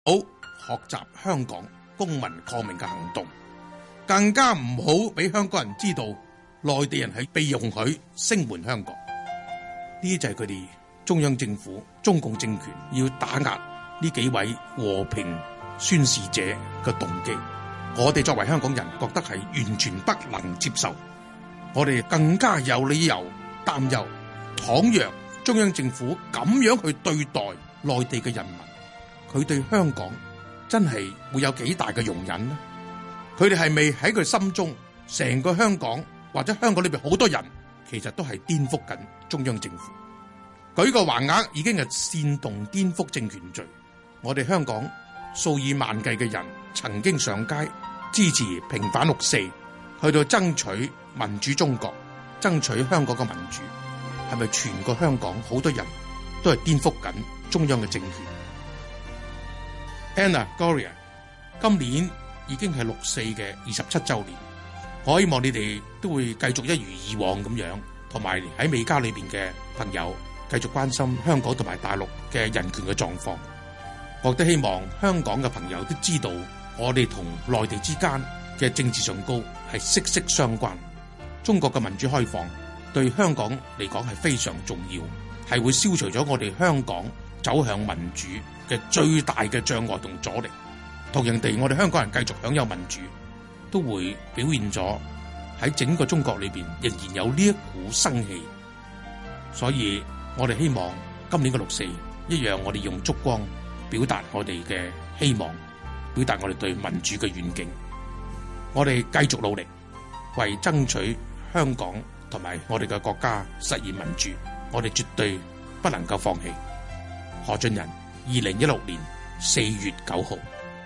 好學習香港公民抗命嘅行動，更加唔好俾香港人知道內地人係被容許聲援香港。呢啲就係佢哋中央政府、中共政權要打壓呢幾位和平宣示者嘅動機。我哋作為香港人覺得係完全不能接受，我哋更加有理由擔憂，倘若中央政府咁樣去對待內地嘅人民，佢對香港真係會有幾大嘅容忍呢？佢哋係咪喺佢心中，成個香港或者香港裏邊好多人，其實都係顛覆緊中央政府？舉個橫額已經係煽動顛覆政權罪。我哋香港數以萬計嘅人曾經上街支持平反六四，去到爭取民主中國，爭取香港嘅民主。係咪全個香港好多人都係顛覆緊中央嘅政權？ Anna Gloria 今年已經係六四嘅27週年，我希望你哋都會繼續一如以往咁樣，同埋喺美加裏邊嘅朋友繼續關心香港同埋大陸嘅人權嘅狀況。我都希望香港嘅朋友都知道，我哋同內地之間嘅政治上高係息息相關。中國嘅民主開放對香港嚟講係非常重要，係會消除咗我哋香港走向民主嘅最大嘅障礙同阻力。同樣地，我哋香港人繼續享有民主，都會表現咗喺整個中國裏邊仍然有呢一股生氣。所以我哋希望今年嘅六四一樣，我哋用燭光表達我哋嘅希望，表達我哋對民主嘅願景。我哋繼續努力，為爭取香港同埋我哋嘅國家實現民主，我哋絕對不能夠放棄。何俊仁，2016年4月9號。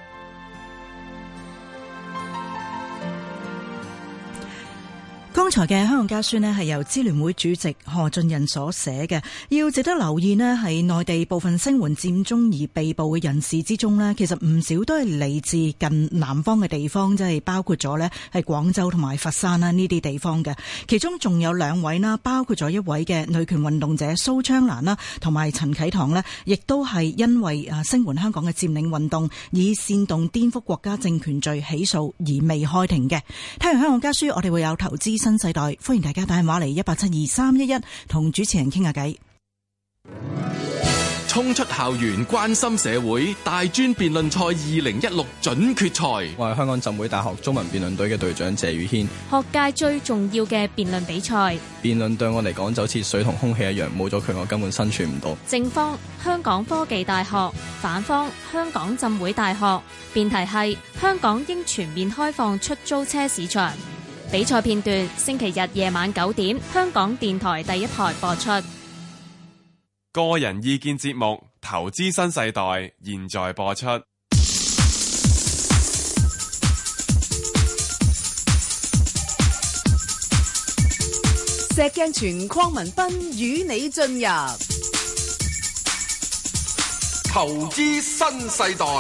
剛才嘅香港家書呢係由支聯會主席何俊仁所寫嘅。要值得留意呢係內地部分聲援佔中而被捕嘅人士之中呢，其實唔少都係嚟自近南方嘅地方，即係包括咗呢係廣州同埋佛山啦呢啲地方嘅。其中仲有兩位啦，包括咗一位嘅女權運動者蘇昌蘭啦，同埋陳啟棠呢，亦都係因為聲援香港嘅佔領運動，以煽動顛覆國家政權罪起訴而未開庭嘅。聽完香港家書，我哋會有投資新世代，歡迎大家打電話嚟1872311同主持人傾下偈。 衝出校園關心社會，大專辯論賽2016準決賽。 我係香港浸會大學中文辯論隊嘅隊長謝宇軒。 學界最重要嘅辯論比賽， 辯論對我嚟講就好似水同空氣一樣，冇咗佢我根本生存唔到。 正方香港科技大學，反方香港浸會大學。辯題係香港應全面開放出租車市場。比賽片段星期日夜晚9點，香港電台第一台播出。 個人意見節目《投資新世代》現在播出。 石鏡泉鄺民彬與你進入《 投資新世代》。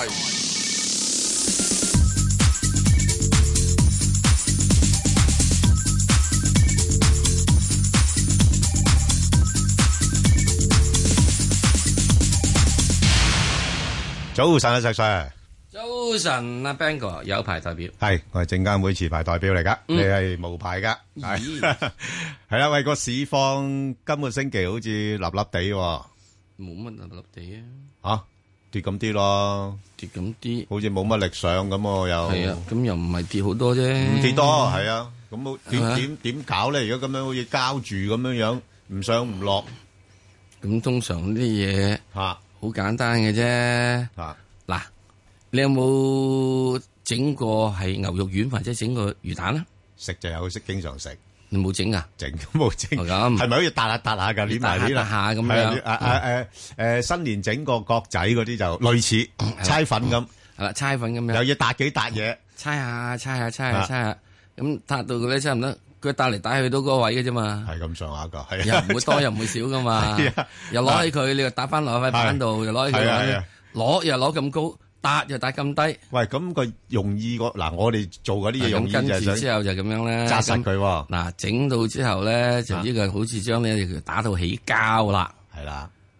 早晨啊，石 Sir。 早晨啊 ，Bang 哥有牌代表， 係我係證監會持牌代表嚟噶，你係無牌噶，係係啦。喂，個市況今個星期好似立立地， 冇乜立立地啊，吓跌咁啲咯， 跌咁啲， 好似冇乜力上咁又係啊，咁又唔係跌好多啫， 唔跌多係啊，咁點搞咧？如果咁樣好似膠住咁樣，唔上唔落， 咁通常啲嘢吓。好簡單嘅啫，嗱，你有冇整過係牛肉丸或者整過魚蛋啊？ 食就有，識經常食。 你冇整啊？ 整冇整，咁係咪可以搭下噶？捏埋啲啦， 下咁樣。 新年整個角仔嗰啲就類似猜粉咁， 係啦，猜粉咁樣。 又要搭幾搭嘢， 猜下，咁搭到佢咧差唔多。佢帶嚟帶去到嗰個位嘅啫嘛，係咁上下噶，係又唔會多又唔會少噶嘛，又攞起佢，你又打翻落塊板度，又攞起佢，攞又攞咁高，搭又搭咁低。喂，咁個用意嗱，我哋做嗰啲嘢用意就係想跟住之後就咁樣咧，紮實佢。嗱，整到之後咧，就呢個好似將呢條打到起膠啦，係啦。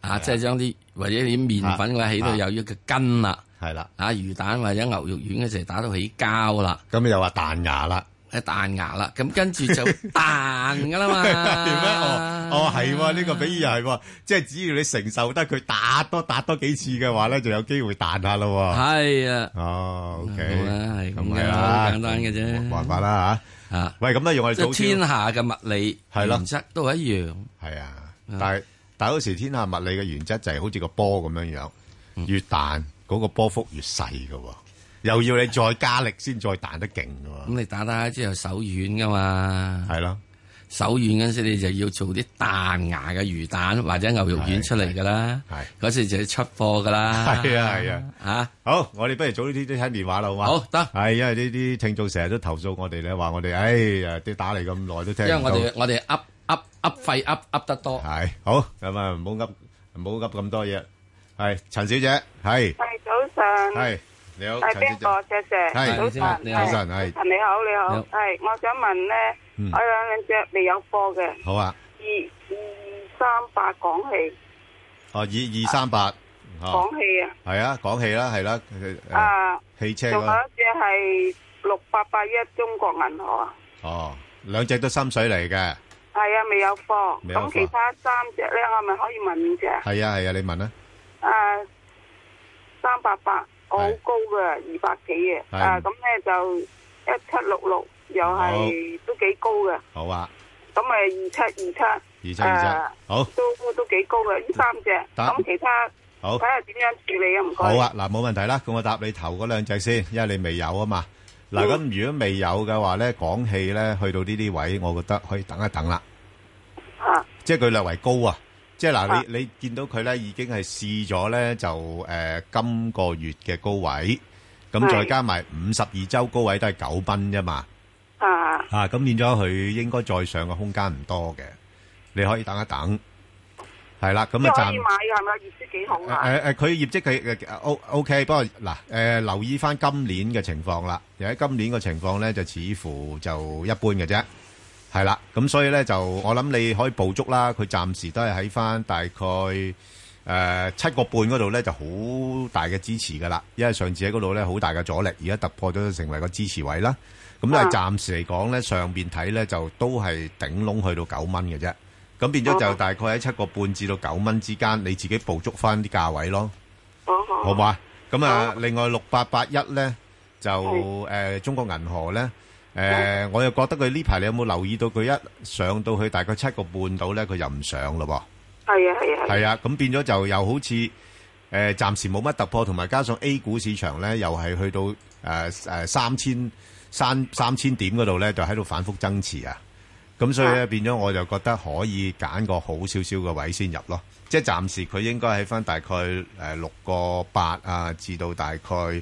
啊，即係將啲或者啲麵粉嘅話起到有一個筋啦， 係啦， 啊魚蛋或者牛肉丸嘅時候打到起膠啦， 咁又話彈牙啦。 彈牙啦，咁跟住就彈噶啦嘛。點咩？係喎，呢個比喻係喎，即係只要你承受得佢打多幾次嘅話咧，就有機會彈下咯。 係啊。 OK， 係咁嘅啦，好簡單嘅啫。 冇辦法啦嚇。啊，喂，咁咧用我哋早天下嘅物理原則都係一樣。 係啊，但係嗰時天下物理嘅原則就係好似個波咁樣樣，越彈嗰個波幅越細㗎喎。又要你再加力先再彈得勁㗎喎。 咁你打之後手軟噶嘛？ 係咯， 手軟嗰陣時你就要做啲彈牙嘅魚蛋或者牛肉丸出嚟噶啦。係嗰時就要出貨噶啦。 係啊。 嚇， 好，我哋不如早啲聽電話啦，好嘛？ 好得。 係因為呢啲聽眾成日都投訴我哋咧，話我哋啲打嚟咁耐都聽唔到。 因為我哋噏肺噏得多。 係好咁啊，唔好噏咁多嘢。係陳小姐，係早上。 係。你好， 係邊個？謝謝。 係早晨， 你好，早晨係。 你好。係，我想問咧，我有兩隻未有貨嘅。 好啊。 2238港氣。 哦，2238。 港氣啊。 係啊，港氣啦，係啦。汽車。 仲有一隻係6881中國銀河啊。 哦，兩隻都深水嚟嘅。 係啊，未有貨。咁其他三隻咧，我咪可以問5隻？ 係啊，你問啦。 388。我好高嘅，200幾嘅，咁咧就1766又係都幾高嘅。 好啊。 咁咪2727， 好， 都幾高嘅呢3隻。咁其他好睇下點樣處理啊？唔該。 好啊，嗱冇問題啦，咁我答你頭嗰兩隻先，因為你未有啊嘛。嗱咁如果未有嘅話咧，港氣咧去到呢啲位，我覺得可以等一等啦。即係佢略為高啊。即係嗱，你見到佢咧已經係試咗咧，就今個月嘅高位，咁再加埋52週高位都係9蚊啫嘛。咁變咗佢應該再上嘅空間唔多嘅，你可以等一等。係啦，咁啊可以買嘅係咪？業績幾好啊？ 佢業績佢OK，不過嗱留意翻今年嘅情況啦。而喺今年嘅情況咧，就似乎就一般嘅啫。係啦，咁所以咧就我諗你可以捕捉啦，佢暫時都係喺翻大概7個半嗰度咧就好大嘅支持噶啦，因為上次喺嗰度咧好大嘅阻力，而家突破咗成為個支持位啦。咁但係暫時嚟講咧，上邊睇咧就都係頂籠去到9蚊嘅啫。咁變咗就大概喺7個半至到9蚊之間，你自己捕捉翻啲價位咯。好嘛？咁另外6881咧就中國銀河咧。我又覺得佢呢排你有冇留意到佢一上到去大概7個半度咧，佢又唔上咯噃。係啊，咁變咗就又好似暫時冇乜突破，同埋加上 A 股市場咧又係去到3000點嗰度咧，就喺度反覆增持啊。咁所以咧變咗我就覺得可以揀個好少少嘅位先入咯。即係暫時佢應該喺翻大概6個8啊，至到大概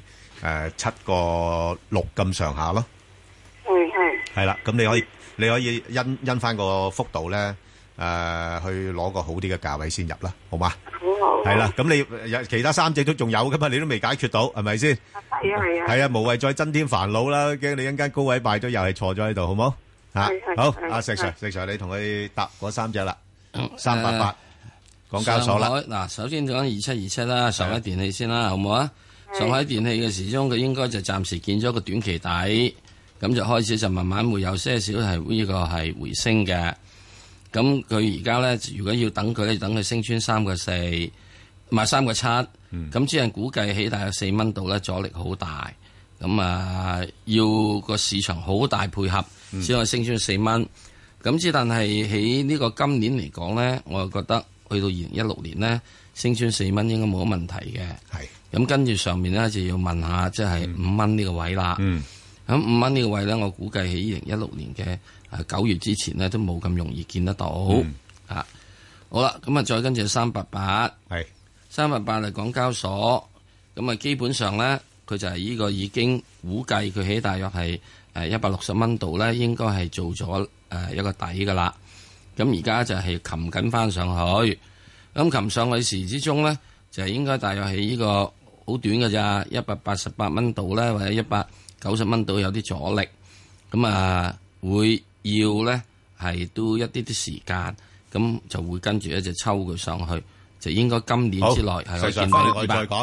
7個6咁上下咯。係啦，咁你可以因翻個幅度咧，去攞個好啲嘅價位先入啦，好嘛？好。係啦，咁你有其他3隻都仲有噶嘛？你都未解決到，係咪先？係啊，無謂再增添煩惱啦，驚你一間高位敗咗，又係錯咗喺度，好冇？好，阿石 Sir，你同佢答嗰3隻啦，388港交所啦。 嗱，首先講2727啦，上海電氣先啦，好唔好啊？上海電氣嘅時鐘佢應該就暫時見咗個短期底。咁就開始就慢慢會有些少係呢個係回升嘅。咁佢而家咧，如果要等佢咧，等佢升穿3個4，唔係3個7。咁只係估計起大約4蚊度咧，阻力好大。咁要個市場好大配合先可以升穿4蚊。咁之但係喺呢個今年嚟講咧，我就覺得去到2016年咧，升穿4蚊應該冇乜問題嘅。係。咁跟住上面咧就要問下，即係5蚊呢個位啦。咁5蚊呢個位咧，我估計喺2016年嘅9月之前咧，都冇咁容易見得到。好啦，咁再跟住388，係388係港交所，咁基本上咧，佢就係呢個已經估計佢喺大約係160蚊度咧，應該係做咗一個底噶啦。咁而家就係擒緊翻上去，咁擒上去時之中咧，就係應該大約係呢個好短嘅咋，188蚊度咧，或者190蚊度有啲阻力，咁會要咧係都一啲時間，咁就會跟住咧就抽佢上去， 就應該今年之內係可以見到我哋再講。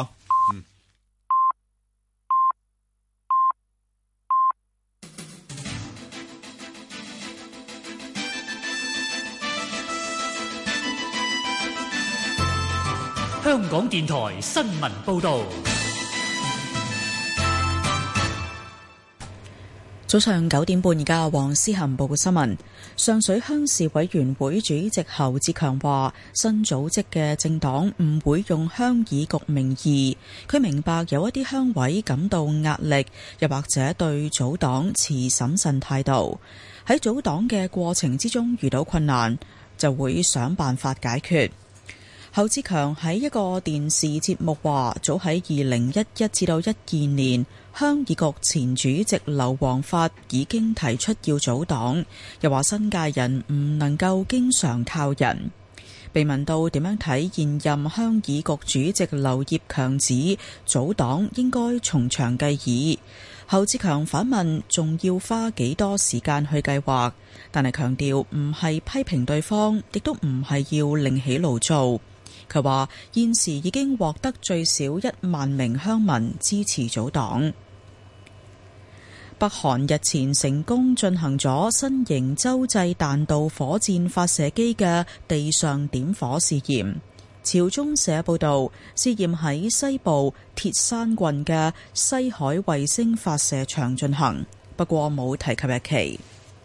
香港電台新聞報道。 早上9點半，而家黃思涵報告新聞。上水鄉事委員會主席侯志強話，新組織嘅政黨唔會用鄉議局名義。佢明白有一啲鄉委感到壓力，又或者對組黨持審慎態度。喺組黨嘅過程之中遇到困難，就會想辦法解決。侯志強喺一個電視節目話，早喺2011至到12年，鄉議局前主席劉皇發已經提出要組黨，又話新界人唔能夠經常靠人。被問到點樣睇現任鄉議局主席劉業強指組黨應該從長計議，侯志強反問仲要花幾多時間去計劃，但係強調唔係批評對方，亦都唔係要另起爐灶。佢話現時已經獲得最少1萬名鄉民支持組黨。北韓日前成功進行咗新型洲際彈道火箭發射機嘅地上點火試驗。朝中社報道，試驗喺西部鐵山郡嘅西海衛星發射場進行，不過冇提及日期。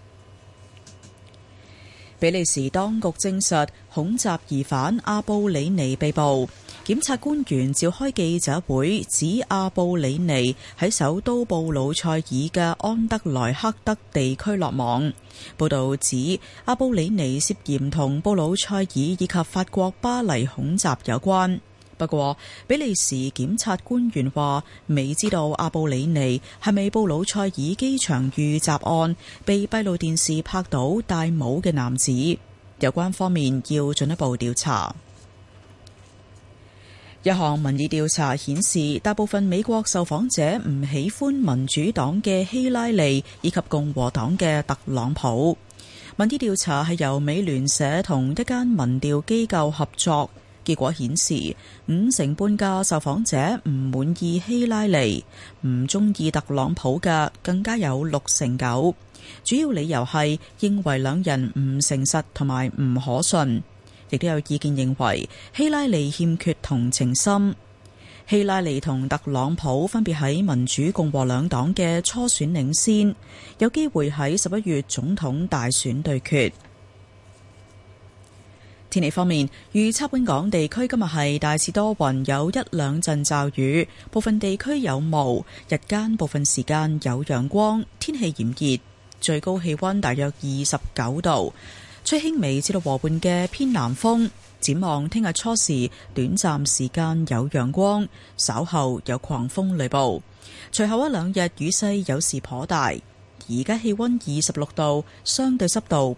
比利時當局證實恐襲疑犯阿布里尼被捕，檢察官員召開記者會，指阿布里尼喺首都布魯塞爾嘅安德萊克德地區落網。報道指阿布里尼涉嫌同布魯塞爾以及法國巴黎恐襲有關。不過，比利時檢察官員話未知道阿布里尼係咪布魯塞爾機場遇襲案被閉路電視拍到戴帽嘅男子，有關方面要進一步調查。一項民意調查顯示，大部分美國受訪者唔喜歡民主黨嘅希拉里以及共和黨嘅特朗普。民意調查係由美聯社同一間民調機構合作。結果顯示，5成半嘅受訪者唔滿意希拉里，唔中意特朗普嘅更加有6.9%。主要理由係認為兩人唔誠實同埋唔可信，亦都有意見認為希拉里欠缺同情心。希拉里同特朗普分別喺民主共和兩黨嘅初選領先，有機會喺11月總統大選對決。天氣方面，預測本港地區今日係大致多雲，有1兩陣驟雨，部分地區有霧，日間部分時間有陽光，天氣炎熱，最高氣溫大約29度，吹輕微至到和緩嘅偏南風。展望聽日初時，短暫時間有陽光，稍後有狂風雷暴，隨後一兩日雨勢有時頗大。而家氣溫26度，相對濕度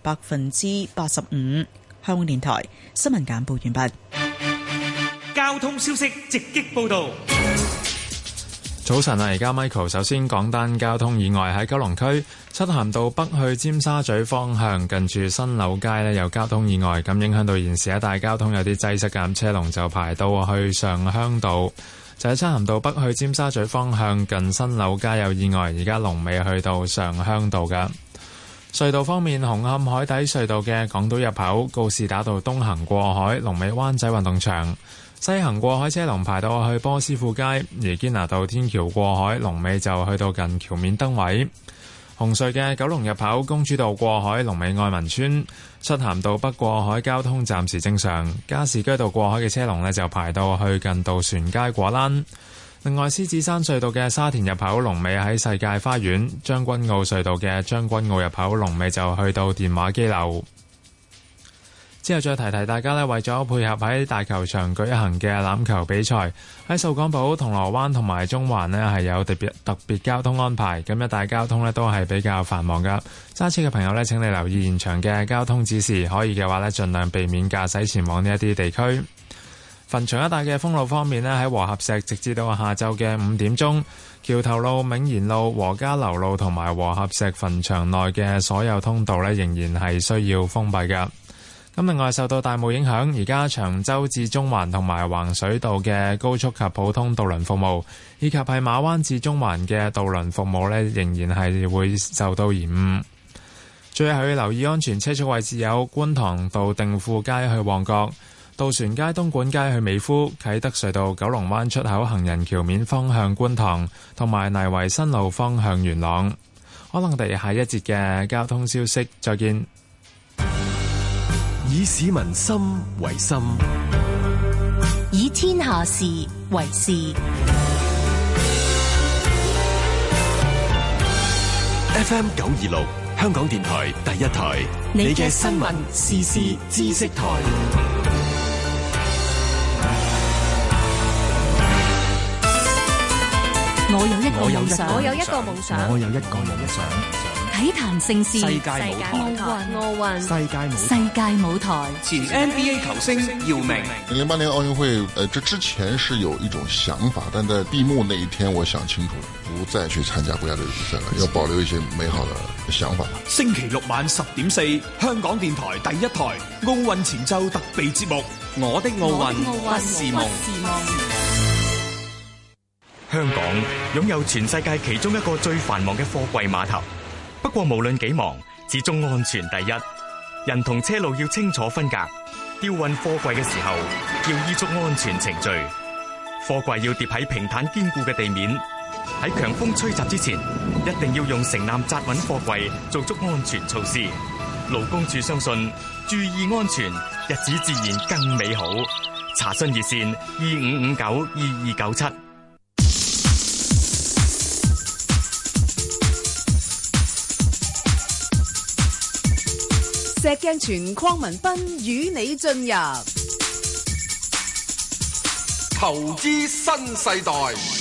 85%。香港電台新聞簡報完畢。 交通消息直擊報道。 早晨啊，而家 Michael 首先講單交通意外喺九龍區漆咸道北去尖沙咀方向，近住新柳街呢有交通意外，咁影響到現時一帶交通有啲擠塞嘅，車龍就排到去上鄉道。就喺漆咸道北去尖沙咀方向，近新柳街有意外，而家龍尾去到上鄉道㗎。隧道方面，紅磡海底隧道嘅港島入口告士打道東行過海，龍尾灣仔運動場；西行過海車龍排到去波斯富街，而堅拿道天橋過海龍尾就去到近橋面燈位。紅隧嘅九龍入口公主道過海龍尾愛民村，漆咸道北過海交通暫時正常，加士居道過海嘅車龍呢就排到去近渡船街果欄。另外，獅子山隧道嘅沙田入口龍尾喺世界花園，將軍澳隧道嘅將軍澳入口龍尾就去到電話機樓。之後再提提大家呢，為咗配合喺大球場舉行嘅欖球比賽，喺掃桿埔、銅鑼灣同埋中環呢係有特別交通安排，咁一帶交通呢都係比較繁忙噶。揸車嘅朋友呢，請你留意現場嘅交通指示，可以嘅話呢，盡量避免駕駛前往呢一啲地區。墳場一帶嘅封路方面呢，喺和合石直至到下晝嘅5點鐘，橋頭路、銘賢路、和家樓路同埋和合石墳場內嘅所有通道呢，仍然係需要封閉㗎。 咁另外受到大霧影響，而家長洲至中環同埋橫水道嘅高速及普通渡輪服務，以及係馬灣至中環嘅渡輪服務呢，仍然係會受到延誤。最後要留意安全車速位置有觀塘道定富街去旺角、渡船街東莞街去美孚、啟德隧道九龍灣出口行人橋面方向觀塘，同埋泥圍新路方向元朗。可能我哋下一節嘅交通消息再見。 以市民心為心， 以天下事為事。 FM 926，香港電台第一台，你嘅新聞時事知識台。 我有一個夢想，我有一個夢想， 我有一個夢想。 體壇盛事， 世界舞台， 世界舞台。 前 NBA 球星姚明。 08年奧運會，這之前是有一種想法，但在閉幕那一天，我想清楚了，不再去參加國家隊比賽了，要保留一些美好的想法。 星期六晚10:04，香港電台第一台奧運前奏特備節目《我的奧運不是夢》。 香港擁有全世界其中一個最繁忙嘅貨櫃碼頭。不過無論幾忙，始終安全第一。人同車路要清楚分隔，吊運貨櫃嘅時候要依足安全程序。貨櫃要疊喺平坦堅固嘅地面。喺強風吹襲之前，一定要用繩纜紮穩貨櫃，做足安全措施。勞工處相信，注意安全，日子自然更美好。查詢熱線25592297。 石鏡泉鄺民彬與你進入投資新世代。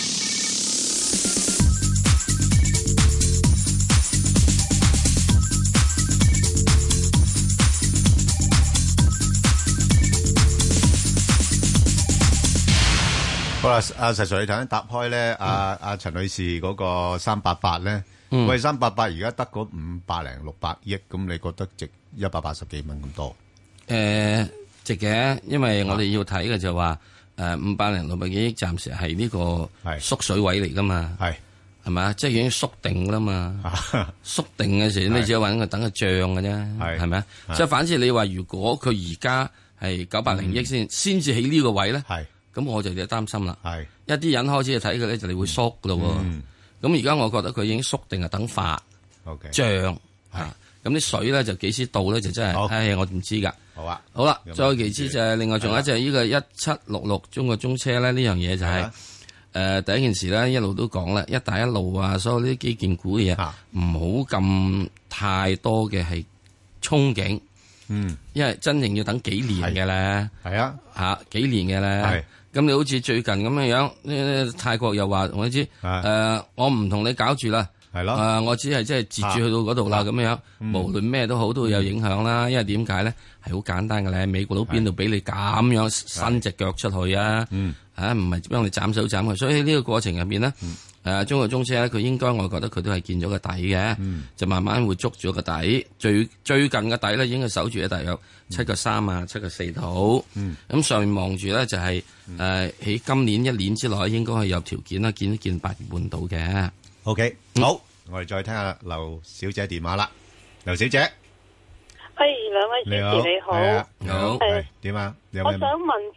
好啦，阿石 Sir，你頭先答開咧，阿陳女士嗰個388咧，喂，388而家得嗰500-600億，咁你覺得值180幾蚊咁多？ 值嘅，因為我哋要睇嘅就話500-600幾億，暫時係呢個縮水位嚟噶嘛，係咪啊？即係已經縮定啦嘛，縮定嘅時候你只係揾佢等佢漲嘅啫，係咪啊？即係反之，你話如果佢而家係900億先至起呢個位咧，咁我就有啲擔心啦。一啲人開始睇佢咧，就你會縮噶咯。咁而家我覺得佢已經縮定係等發漲啊。咁啲水咧就幾時到咧就真係，我唔知㗎。好啊，好啦，再其次就係另外仲有一隻呢個1766中國中車咧，呢樣嘢就係第一件事咧，一路都講啦，一帶一路啊，所有呢啲基建股嘅嘢唔好咁太多嘅係憧憬。因為真正要等幾年嘅咧，幾年嘅咧。咁你好似最近咁樣，泰國又話我知，我唔同你搞住啦，我只係即係截住去到嗰度啦，咁樣，無論咩都好都會有影響啦。因為點解咧？係好簡單嘅咧，美國佬邊度俾你咁樣伸隻腳出去啊？唔係幫你斬手斬佢，所以喺呢個過程入邊咧，中國中車咧，佢應該我覺得佢都係見咗個底嘅，就慢慢會捉住個底。最近嘅底咧，應該守住喺大約7.3啊，7.4度。咁上面望住咧就係喺今年1年之內應該係有條件啦，見8月半到嘅。 OK，好，我哋再聽下劉小姐電話啦。劉小姐， 兩位主持你好， 好，點啊？ 我想問隻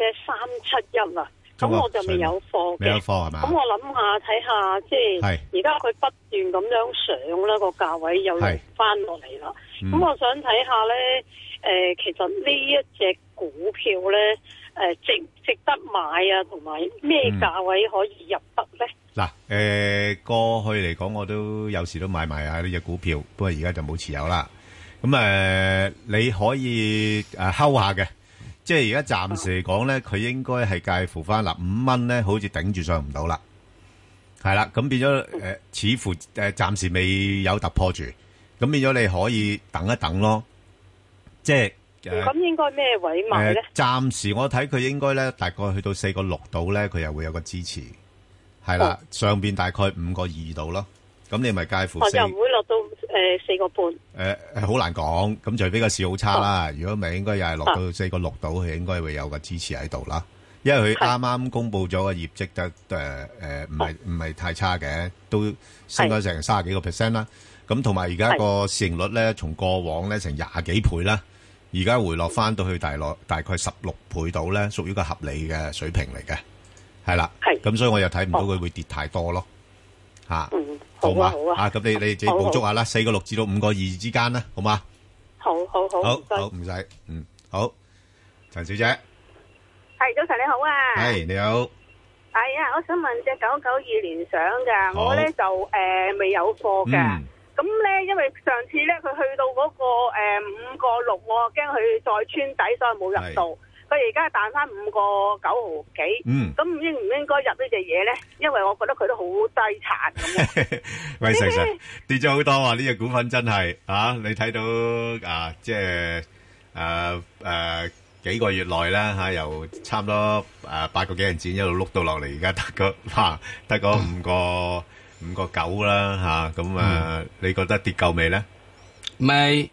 371啊。咁我就未有貨嘅，未有貨係嘛？咁我諗下睇下，即係而家佢不斷咁樣上啦，個價位又翻落嚟啦。咁我想睇下咧，其實呢一隻股票咧，值唔值得買啊？同埋咩價位可以入得咧？ 嗱，過去嚟講，我都有時都買埋啊呢隻股票，不過而家就冇持有啦。咁你可以睺下嘅。即係而家暫時嚟講咧，佢應該係介乎翻5蚊咧，好似頂住上唔到啦，係啦，咁變咗似乎暫時未有突破住，咁變咗你可以等一等咯，即係咁應該咩位買咧？暫時我睇佢應該咧，大概去到4.6度咧，佢又會有個支持，係啦，上邊大概5.2度咯，咁你咪介乎又唔會落到 4個半。 好難講，咁除非個市好差啦。如果唔係，應該又係落到4個6度，佢應該會有個支持喺度啦。因為佢啱啱公布咗個業績得唔係太差嘅，都升咗成30幾個%啦。咁同埋而家個市盈率咧，從過往咧成20幾倍啦，而家回落翻到去大概16倍度咧，屬於個合理嘅水平嚟嘅，係啦。咁所以我又睇唔到佢會跌太多咯。嚇，好嘛？咁你自己捕捉下啦，4個6至到5個2之間啦，好嘛？ 好， 唔使，好，陳小姐， 係早晨你好啊， 係你好， 係啊，我想問隻992聯想噶，我咧就未有貨噶。咁咧，因為上次咧佢去到嗰個5個6，我驚佢再穿底，所以冇入到。佢而家彈翻5個9毫幾。咁應唔應該入呢隻嘢咧？因為我覺得佢都好低殘咁。 喂，石 Sir 跌咗好多啊！呢隻股份真係你睇到即係幾個月內啦由差唔多8個幾銀錢一路碌到落嚟，而家得個5個9啦咁你覺得跌夠未咧？ 未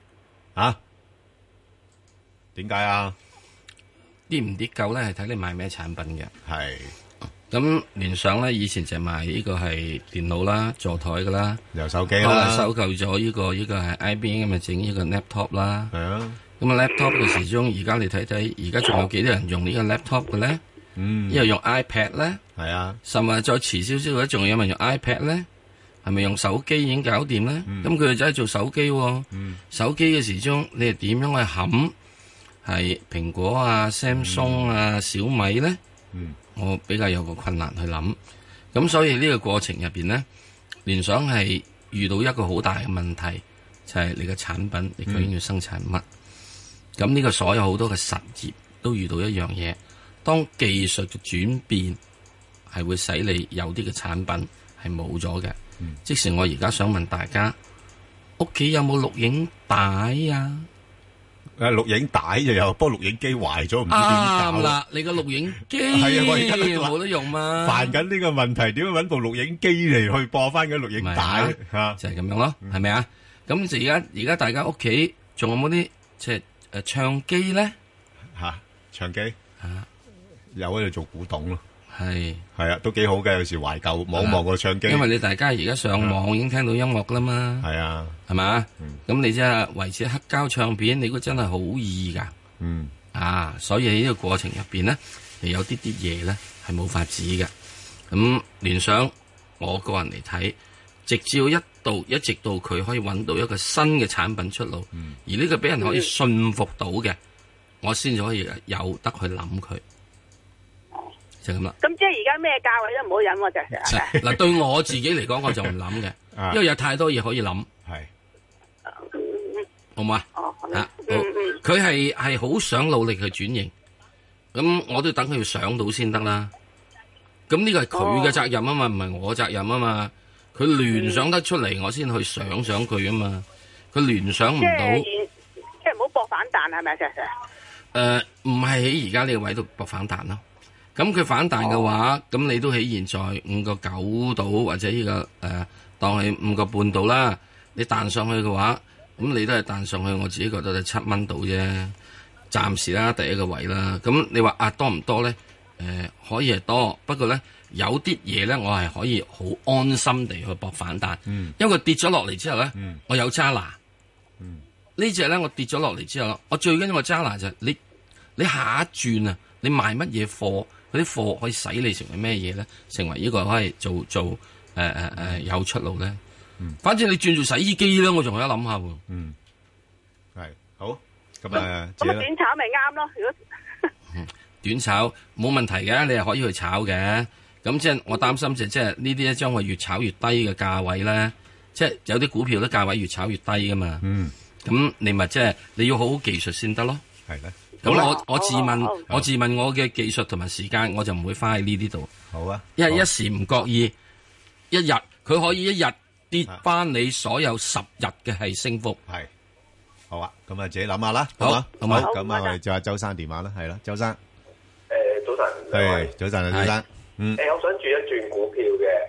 點解啊？ 跌唔跌夠咧，係睇你買咩產品嘅。 係咁聯想咧，以前就賣呢個係電腦啦、座台噶啦， 有手機啦， 後來收購咗呢個係 IBM 咁啊，整呢個 laptop 啦。係啊，咁啊 laptop 嘅時鐘，而家你睇睇，而家仲有幾多人用呢個 laptop 嘅咧？因為用 iPad 咧， 係啊， 甚至再遲少少嘅，仲有人用 iPad 咧，係咪用手機已經搞掂咧？咁佢哋就係做手機，手機嘅時鐘，你係點樣去冚？係蘋果啊、Samsung 啊、小米咧，我比較有個困難去諗。咁所以呢個過程入邊咧，聯想係遇到一個好大嘅問題，就係你嘅產品你究竟要生產乜？咁呢個所有好多嘅實業都遇到一樣嘢，當技術嘅轉變係會使你有啲嘅產品係冇咗嘅。即使我而家想問大家，屋企有冇錄影帶啊？ 錄影帶就有，不過錄影機壞咗，唔知點搞。 啱啦，你個錄影機係啊，我而家冇得用嘛。 煩緊呢個問題，點樣搵部錄影機嚟去播翻嗰錄影帶吓？ 就係咁樣咯，係咪啊？咁就而家大家屋企仲有冇啲即係唱機咧？ 唱機有喺度做古董咯。 係啊，都幾好嘅。有時懷舊望望個唱機， 因為你大家而家上網已經聽到音樂啦嘛。 係啊， 係嘛？咁你即係維持黑膠唱片，你估真係好易噶。所以喺呢個過程入邊咧，有啲嘢咧係冇法子嘅。咁聯想，我個人嚟睇，直至一直到佢可以揾到一個新嘅產品出路，而呢個俾人可以信服到嘅，我先至可以有得去諗佢。就咁啦。 咁即係而家咩價位都唔好飲喎，就嗱，對我自己嚟講，我就唔諗嘅，因為有太多嘢可以諗。係，好嘛？佢係好想努力去轉型，咁我都等佢要上到先得啦。咁呢個係佢嘅責任啊嘛，唔係我責任啊嘛。佢聯想得出嚟，我先去想佢啊嘛。佢聯想唔到， 即係唔好搏反彈係咪啊？ 唔係喺而家呢個位度搏反彈咯。咁佢反彈嘅話，咁你都喺現在5個9度或者呢個當係5個半度啦。你彈上去嘅話，咁你都係彈上去，我自己覺得係7蚊度啫。暫時啦，第一個位啦。咁你話多唔多咧？可以係多，不過咧有啲嘢咧，我係可以好安心地去搏反彈。因為佢跌咗落嚟之後咧，我有揸拿。呢隻咧我跌咗落嚟之後，我最緊要個揸拿就係你下一轉啊，你賣乜嘢貨？嗰啲貨可以使你成為咩嘢咧？成為呢個可以做有出路咧。反正你轉做洗衣機咧，我仲有得諗下喎。 係好咁咁短炒咪啱咯。如果短炒冇問題嘅，你係可以去炒嘅。咁即係我擔心就即係呢啲咧，將會越炒越低嘅價位咧。即係有啲股票咧價位越炒越低噶嘛。咁你咪即係你要好好技術先得咯。 係咧。 咁我自問我嘅技術同埋時間，我就唔會花喺呢啲度。 好啊， 因為一時唔覺意，一日佢可以一日跌翻你所有10日嘅係升幅。 係好啊，咁啊自己諗下啦。 好嘛，咁啊我哋就係周生電話啦，係啦，周生。 早晨。 係早晨啊，周生。 我想轉一轉股票嘅，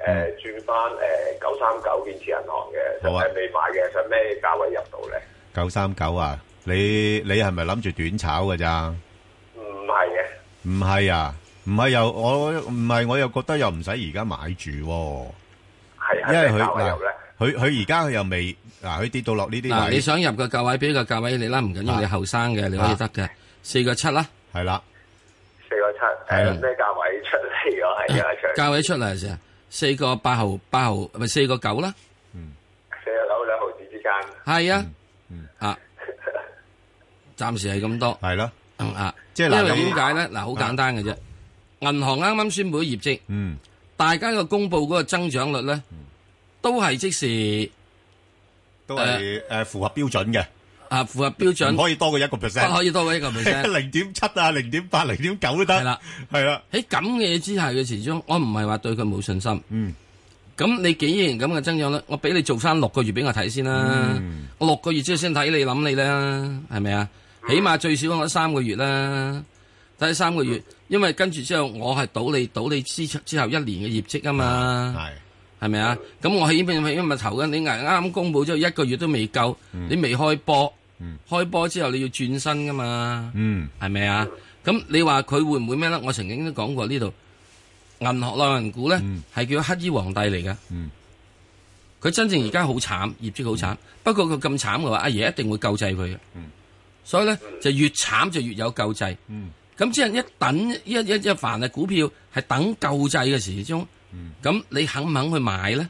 轉翻939建設銀行嘅，就係未買嘅，想咩價位入到咧 ？939啊，你係咪諗住短炒㗎咋？ 唔係嘅。 唔係啊，唔係又我又覺得又唔使而家買住喎。係因為佢而家佢又未佢跌到落呢啲位。 你想入個價位，俾個價位你啦，唔緊要，你後生嘅你可以得嘅，4.7啦。係啦 ，4.7，咩價位出嚟㗎？係啊， 價位出嚟嘅時候，4.8毫咪4.9啦。 4.9兩毫子之間。 係啊，暫時係咁多。 係咯， 即係因為點解咧？好簡單嘅啫。銀行啱啱宣布業績，大家個公布嗰個增長率咧，都係即時， 都係符合標準嘅。 符合標準， 唔可以多過1%， 不可以多過1%。 0.7啊，0.8、0.9都得。係啦。喺咁嘅嘢之下嘅時鐘，我唔係話對佢冇信心。咁你既然咁嘅增長率，我俾你做翻6個月俾我睇先啦。我6個月之後先睇你諗你啦，係咪啊？起碼最少我3個月啦，睇3個月，因為跟住之後我係賭你之後1年嘅業績啊嘛，係咪啊？咁我起碼因為投緊你啱啱公布之後1個月都未夠，你未開波，開波之後你要轉身噶嘛，係咪啊？咁你話佢會唔會咩咧？我曾經都講過呢度，銀行內銀股咧係叫黑衣皇帝嚟嘅，佢真正而家好慘，業績好慘，不過佢咁慘嘅話，阿爺一定會救濟佢嘅。所以咧就越慘就越有救濟，咁即係一等一凡係股票係等救濟嘅時鐘，咁你肯唔肯去買咧？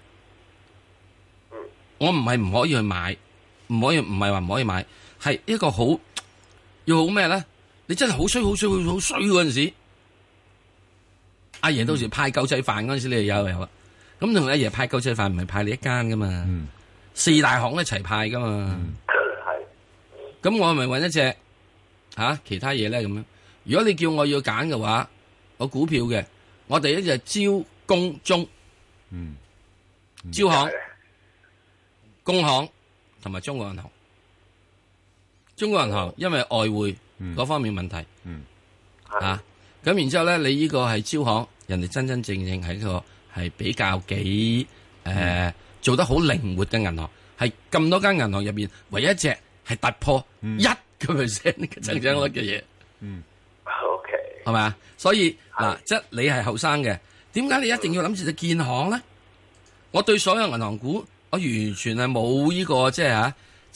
我唔係唔可以去買，唔係話唔可以買，係一個好要好咩咧？你真係好衰嗰陣時，阿爺到時派救濟飯嗰陣時，你就有啦。咁同阿爺派救濟飯唔係派你一間噶嘛，4大行一齊派噶嘛。咁我係咪揾一隻其他嘢咧咁樣？如果你叫我要揀嘅話，我股票嘅，我第一隻招工中，招行、工行同埋中國銀行。中國銀行因為外匯嗰方面問題，咁然之後咧，你呢個係招行，人哋真真正正係一個係比較幾做得好靈活嘅銀行，係咁多間銀行入邊唯一一隻。係突破1% 嘅增長率嘅嘢 ，OK， 係咪啊？所以嗱，即係你係後生嘅，點解你一定要諗住隻建行咧？我對所有銀行股，我完全係冇呢個即係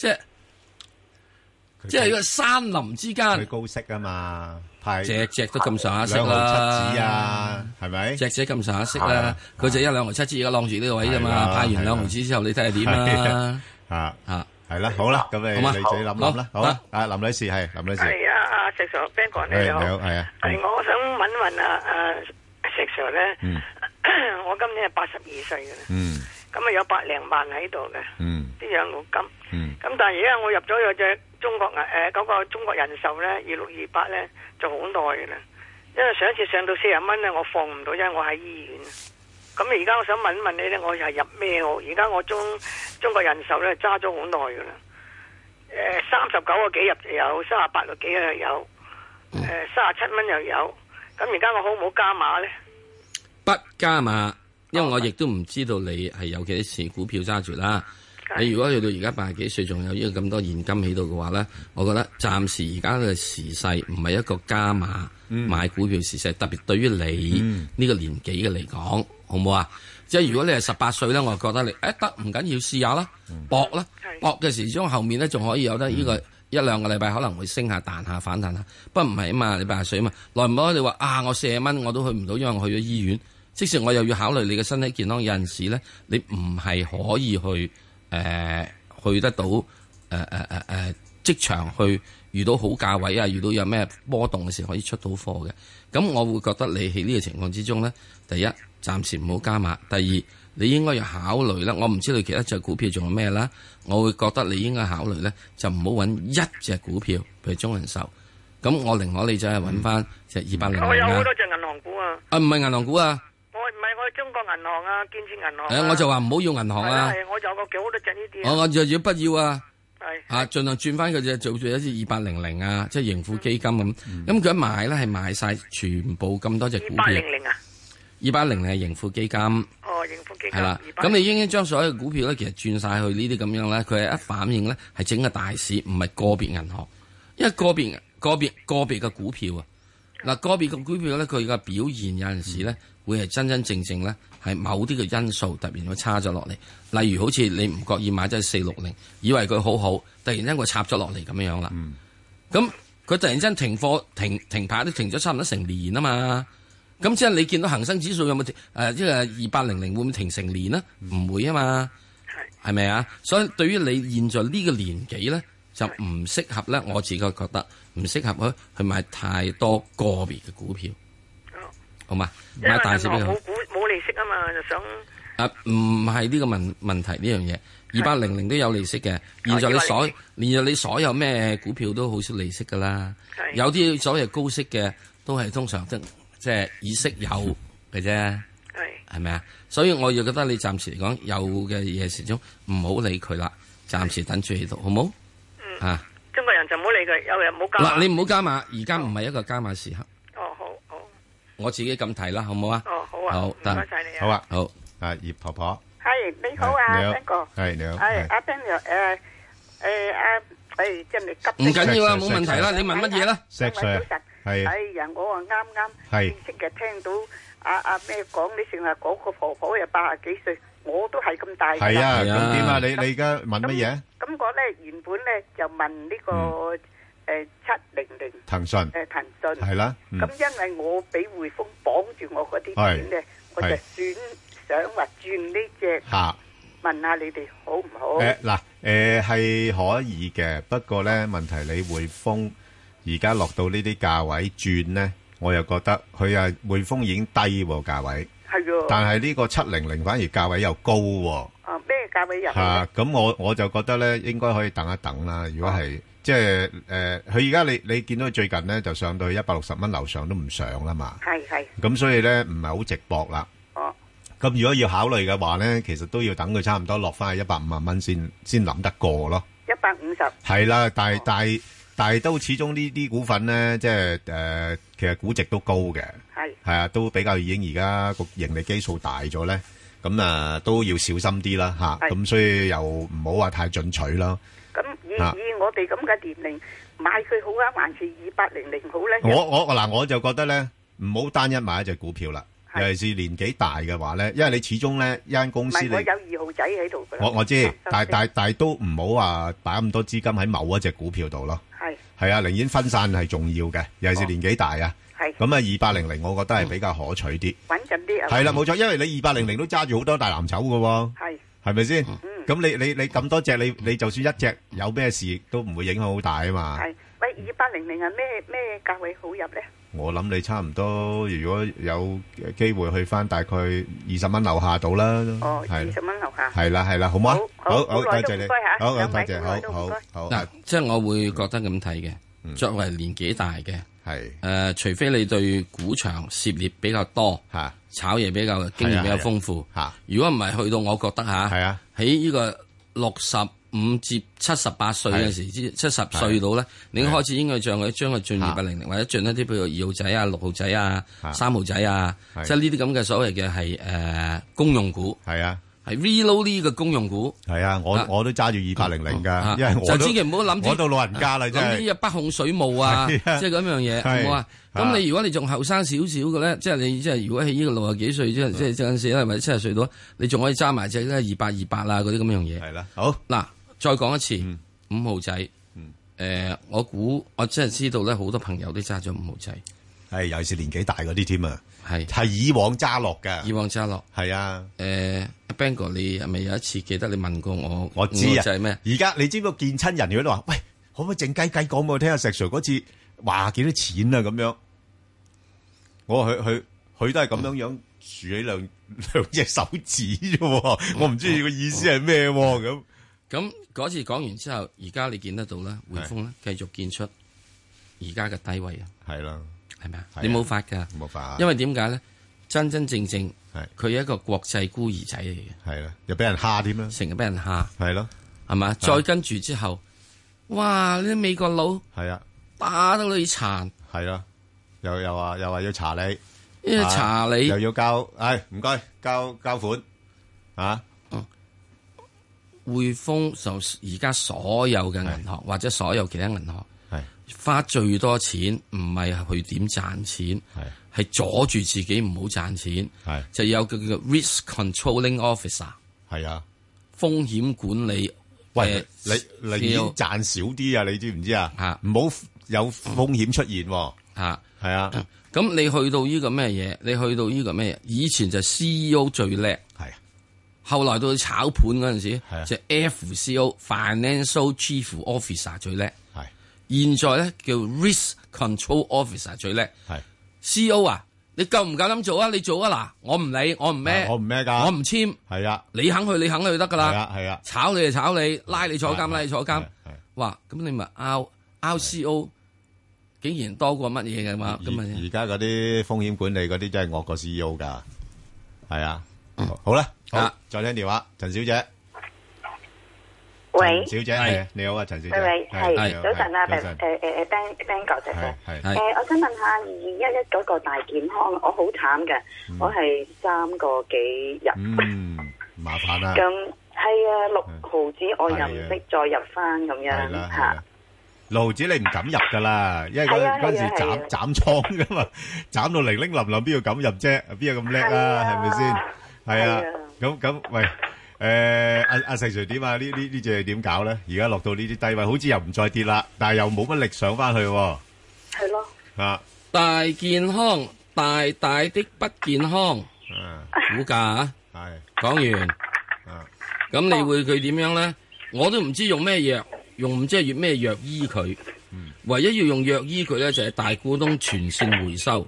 即係呢個山林之間， 佢高息啊嘛，派隻都咁上下息啦， 2.7厘啊，係咪？ 隻咁上下息啦，佢就1.2厘而家晾住呢個位啫嘛，派完2厘之後，你睇下點啦， 係啦，好啦，咁你自己諗諗啦，好啊，林女士係林女士。 係啊，石 Sir Ben 哥你好， 係啊。 係我想問石 Sir 咧，我今年係82歲嘅啦，咁啊有100萬喺度嘅，啲養老金，咁但係而家我入咗有隻中國嗰個中國人壽咧2628咧就好耐嘅啦，因為上一次上到40蚊咧我放唔到，因為我喺醫院。咁而家我想問一問你咧，我係入咩好？而家我中國人壽咧揸咗好耐噶啦，39個幾入就有，38個幾又有，37蚊又有。咁而家我好唔好加碼咧？ 不加碼，因為我亦都唔知道你係有幾多錢股票揸住啦。你如果去到而家80幾歲，仲有呢個咁多現金喺度嘅話咧，我覺得暫時而家嘅時勢唔係一個加碼買股票時勢，特別對於你呢個年紀嘅嚟講。好唔好啊？即係如果你係18歲咧，我就覺得你得唔緊要試下啦，搏啦，搏嘅時鐘後面咧仲可以有得呢個1-2個禮拜可能會升下彈下反彈下，不過唔係啊嘛，你80歲啊嘛，耐唔耐你話我40蚊我都去唔到，因為我去咗醫院，即使我又要考慮你嘅身體健康，有陣時咧你唔係可以去得到職場去遇到好價位啊，遇到有咩波動嘅時候可以出到貨嘅，咁我會覺得你喺呢個情況之中咧，第一，暫時唔好加碼。第二，你應該要考慮啦。我唔知道其他隻股票仲有咩啦。我會覺得你應該考慮咧，就唔好揾一隻股票，譬如中人壽。咁我寧可你就係揾翻隻200。 我有好多隻銀行股啊。 唔係銀行股啊。 我係中國銀行啊，建設銀行。 我就話唔好用銀行啊。 係，我有個幾好多隻呢啲。 我就要不要啊？ 係。 盡量轉翻佢隻做一隻200啊，即係盈富基金咁。咁佢一買咧係買晒全部咁多隻股票。 200啊。 2800係盈富基金。 哦，盈富基金。 係啦，咁你應該將所有嘅股票咧，其實轉晒去呢啲咁樣咧，佢係一反映咧係整個大市，唔係個別銀行，因為個別嘅股票啊，嗱個別嘅股票咧，佢嘅表現有陣時咧會係真正咧係某啲嘅因素突然會差咗落嚟，例如好似你唔覺意買咗460，以為佢好，突然間佢插咗落嚟咁樣啦，咁佢突然間停貨停牌都停咗差唔多成年啊嘛。咁即係你見到恒生指數有冇即係2800會唔會停成年呢？唔會啊嘛，係咪啊？所以對於你現在呢個年紀咧，就唔適合咧。我自己覺得唔適合去買太多個別嘅股票，好嘛？買大市比較好。 冇利息啊嘛，就想唔係呢個問題呢樣嘢，2800都有利息嘅。現在你所有咩股票都好少利息噶啦，有啲所謂高息嘅都係通常即係以息有嘅啫，係咪啊？所以我又覺得你暫時嚟講有嘅嘢始終唔好理佢啦，暫時等住喺度，好冇？啊！ 中國人就唔好理佢，有人唔好加碼。 嗱，你唔好加碼，而家唔係一個加碼時刻。 哦，好。 我自己咁睇啦，好唔好啊？ 哦，好啊。好，唔該晒你啊。 好啊， 好。 葉婆婆。 係你好啊，邊個？ 係你好。 係阿邊個？真係急。 唔緊要啊，冇問題啦，你問乜嘢啦？ 石 Sir。係呀，我啊啱即係聽到阿咩講，你成日嗰個婆婆又80幾歲，我都係咁大。 係啊，咁點啊？你而家問乜嘢？ 咁我咧原本咧就問呢個700 騰訊係啦。 咁因為我俾匯豐綁住我嗰啲錢咧，我就想話轉呢隻，問下你哋好唔好？ 係可以嘅，不過咧問題你匯豐。而家落到呢啲價位轉咧，我又覺得佢匯豐已經低喎價位， 係但係呢個700反而價位又高喎。 咩價位入？ 咁我就覺得咧，應該可以等一等啦。如果係即係佢而家你見到佢最近咧就上到去160蚊樓上都唔上啦嘛。係。咁所以咧唔係好直搏啦。咁如果要考慮嘅話咧，其實都要等佢差唔多落翻去150蚊先諗得過咯。 150。係啦，但係都始終呢啲股份咧，即係其實估值都高嘅，係啊，都比較已經而家個盈利基數大咗咧，咁都要小心啲啦嚇，咁所以又唔好話太進取咯。 咁以我哋咁嘅年齡買佢好啊，還是2800好咧？ 我就覺得咧，唔好單一買一隻股票啦，尤其是年紀大嘅話咧，因為你始終咧一間公司你我有2號仔喺度㗎。 我知，但係都唔好話擺咁多資金喺某一隻股票度咯。係啊，寧願分散係重要嘅，尤其是年紀大啊。係咁啊，2800，我覺得係比較可取啲， 穩陣啲。 係啦，冇錯，因為你2800都揸住好多大藍籌㗎喎。係咪先？咁你咁多隻，你就算一隻有咩事，都唔會影響好大啊嘛。係， 喂，2800係咩價位好入咧？ 我諗你差唔多，如果有機會去翻大概20蚊樓下到啦。 哦，20蚊樓下。 係啦，好嗎？好， 多謝你。 好，多謝，好。 嗱，即係我會覺得咁睇嘅。作為年紀大嘅，係除非你對股場涉獵比較多，炒嘢比較經驗比較豐富。如果唔係，去到我覺得喺呢個65至78歲嗰時，70歲到咧，你開始應該將佢進2800，或者進一啲譬如2號仔啊、6號仔啊、3號仔啊，即係呢啲咁嘅所謂嘅係公用股。係啊，係 reload 呢個公用股。係啊，我都揸住2800㗎，因為我就千祈唔好諗住我到老人家啦，真係諗啲北控水務啊，即係咁樣嘢，好唔好啊？咁你如果你仲後生少少嘅咧，即係你即係如果喺呢個60幾歲，即係嗰陣時咧，或者70歲到，你仲可以揸埋隻咧228啊嗰啲咁樣嘢。係啦，好嗱。再講一次，5號仔，我估我真係知道咧，好多朋友都揸咗5號仔，係尤其是年紀大嗰啲添啊，係以往揸落嘅，以往揸落，係啊，Ben 哥，你係咪有一次記得你問過我？我知啊，就係咩？而家你知唔知見親人如果都話，喂，可唔可以靜雞雞講俾我聽下石 Sir 嗰次話幾多錢啊？咁樣，我話佢都係咁樣豎起兩隻手指啫，我唔知佢個意思係咩咁。咁嗰次講完之後，而家你見得到啦，匯豐咧繼續見出而家嘅低位啊，係啦，係咪啊？你冇法㗎，冇法，因為點解咧？真真正正係佢係一個國際孤兒仔嚟嘅，係啦，又俾人蝦添啦，成日俾人蝦，係咯，係嘛？再跟住之後，哇！呢啲美國佬係啊，打到你殘，係啦，又話要查你， 查你又要交，唔該，交款啊！ 匯豐就而家所有嘅銀行或者所有其他銀行花最多錢，唔係去點賺錢，係阻住自己唔好賺錢，就有個叫 risk controlling officer， 係啊，風險管理。喂，你賺少啲啊？你知唔知啊？唔好有風險出現喎。係啊。 咁你去到呢個咩嘢？你去到呢個咩嘢？以前就 CEO 最叻，係。後來到炒盤嗰陣時，就 FCO Financial Chief Officer 最叻，係。現在咧叫 Risk Control Officer 最叻，係。CEO 啊，你夠唔夠膽做啊？你做啊嗱，我唔理，我唔孭，我唔孭㗎，我唔簽，係啊。你肯去，你肯去得㗎啦，係啊，係啊。炒你就炒你，拉你坐監，拉你坐監。哇，咁你咪 RCO 竟然多過乜嘢嘅嘛？咁啊， 而家嗰啲風險管理嗰啲真係惡過 CEO 㗎，係啊。好啦，好，再聽電話，陳小姐。 喂， 小姐，你好啊，陳小姐。 喂，係早晨啊，Ben 哥仔，我想問下211嗰個大健康，我好慘嘅，我係3個幾入， 麻煩啦。 咁係啊，6毫子我又唔識再入翻咁樣嚇。 6毫子你唔敢入噶啦，因為嗰陣時斬倉噶嘛，斬到零零冧冧，邊度敢入啫？邊有咁叻啊？係咪先？係啊，咁喂，阿石 Sir 點啊？呢隻點搞咧？而家落到呢啲低位，好似又唔再跌啦，但係又冇乜力上翻去。 係咯。 啊， 大健康，大大的不健康。股價啊，係講完。咁你會佢點樣咧？我都唔知用咩藥，用唔知係用咩藥醫佢。唯一要用藥醫佢咧，就係大股東全線回收。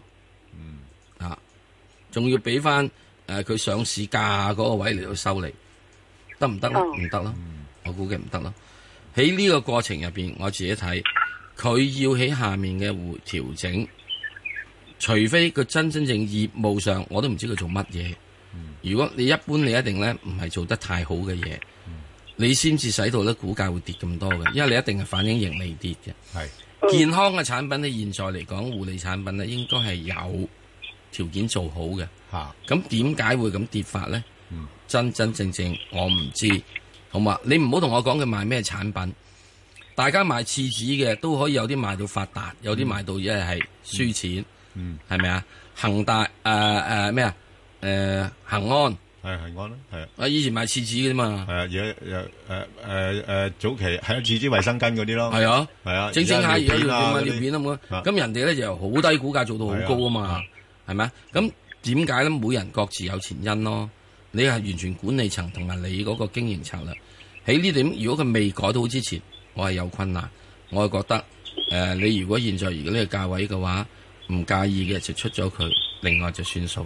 仲要俾翻佢上市價嗰個位嚟到收你，得唔得咧？唔得咯，我估計唔得咯。喺呢個過程入邊，我自己睇，佢要喺下面嘅調整，除非佢真正業務上，我都唔知佢做乜嘢。如果你一般，你一定咧唔係做得太好嘅嘢，你先至使到咧股價會跌咁多嘅，因為你一定係反映盈利跌嘅。係健康嘅產品咧，現在嚟講護理產品咧，應該係有條件做好嘅。咁點解會咁跌法咧？真正我唔知，好嘛？你唔好同我講佢賣咩產品，大家賣廁紙嘅都可以有啲賣到發達，有啲賣到一係輸錢，係咪啊？恒大咩啊？恒安係恒安啦，係啊！以前賣廁紙嘅啫嘛，係啊，而家早期係廁紙衛生巾嗰啲咯， 係啊， 係啊， 整下而家要尿片啊嘛，咁人哋咧就由好低股價做到好高啊嘛，係咪啊？咁點解咧？每人各自有前因咯。你係完全管理層同埋你嗰個經營策略喺呢點，如果佢未改到之前，我係有困難。我係覺得你如果現在如果呢個價位嘅話，唔介意嘅就出咗佢，另外就算數。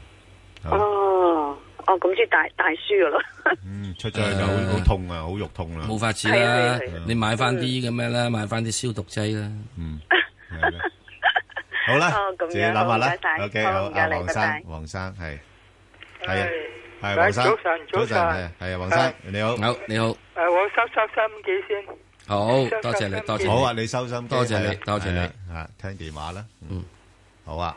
咁即係大輸噶咯。 出咗去就好痛啊，好肉痛啦。 冇法子啦，你買翻啲咁咩啦，買翻啲消毒劑啦。 好啦，自己諗下啦。OK， 好，黃生係啊，係黃生，早晨，係啊，黃生，你好， 你好。 我收心機先。 好多謝你，多謝。 好啊，你收心， 多謝你，多謝你。 啊，聽電話啦。好啊，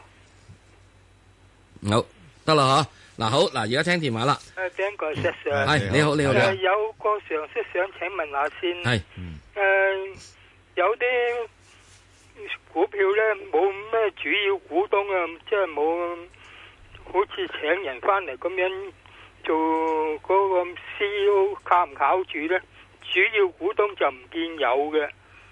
好得啦嗬。嗱好，嗱而家聽電話啦。 邊個石 Sir？ 係你好，你好。 有個常識想請問下先。 係。 有啲股票咧冇咩主要股東啊，即係冇好似請人翻嚟咁樣做嗰個 CEO 靠唔靠住咧？主要股東就唔見有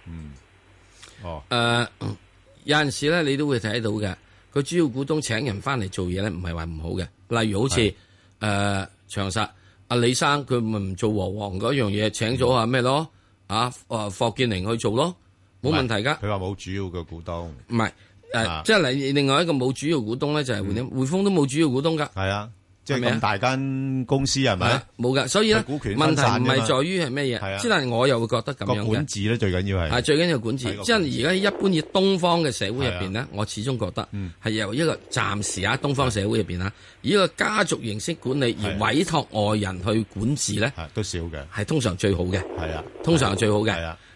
嘅。 有陣時咧，你都會睇到嘅。佢主要股東請人翻嚟做嘢咧，唔係話唔好嘅。例如好似長實阿李生，佢咪唔做和黃嗰樣嘢，請咗阿咩咯？霍建寧去做咯，冇問題噶。 佢話冇主要嘅股東， 唔係即係另外一個冇主要股東咧，就係匯豐都冇主要股東噶。 係啊。即係咁大間公司係咪？ 冇噶，所以咧問題唔係在於係咩嘢，即係我又會覺得咁樣嘅。 管治咧最緊要係最緊要管治。即係而家一般以東方嘅社會入邊咧，我始終覺得係由一個暫時東方社會入邊以一個家族形式管理而委託外人去管治咧， 都少嘅， 係通常最好嘅。 係啊， 通常係最好嘅。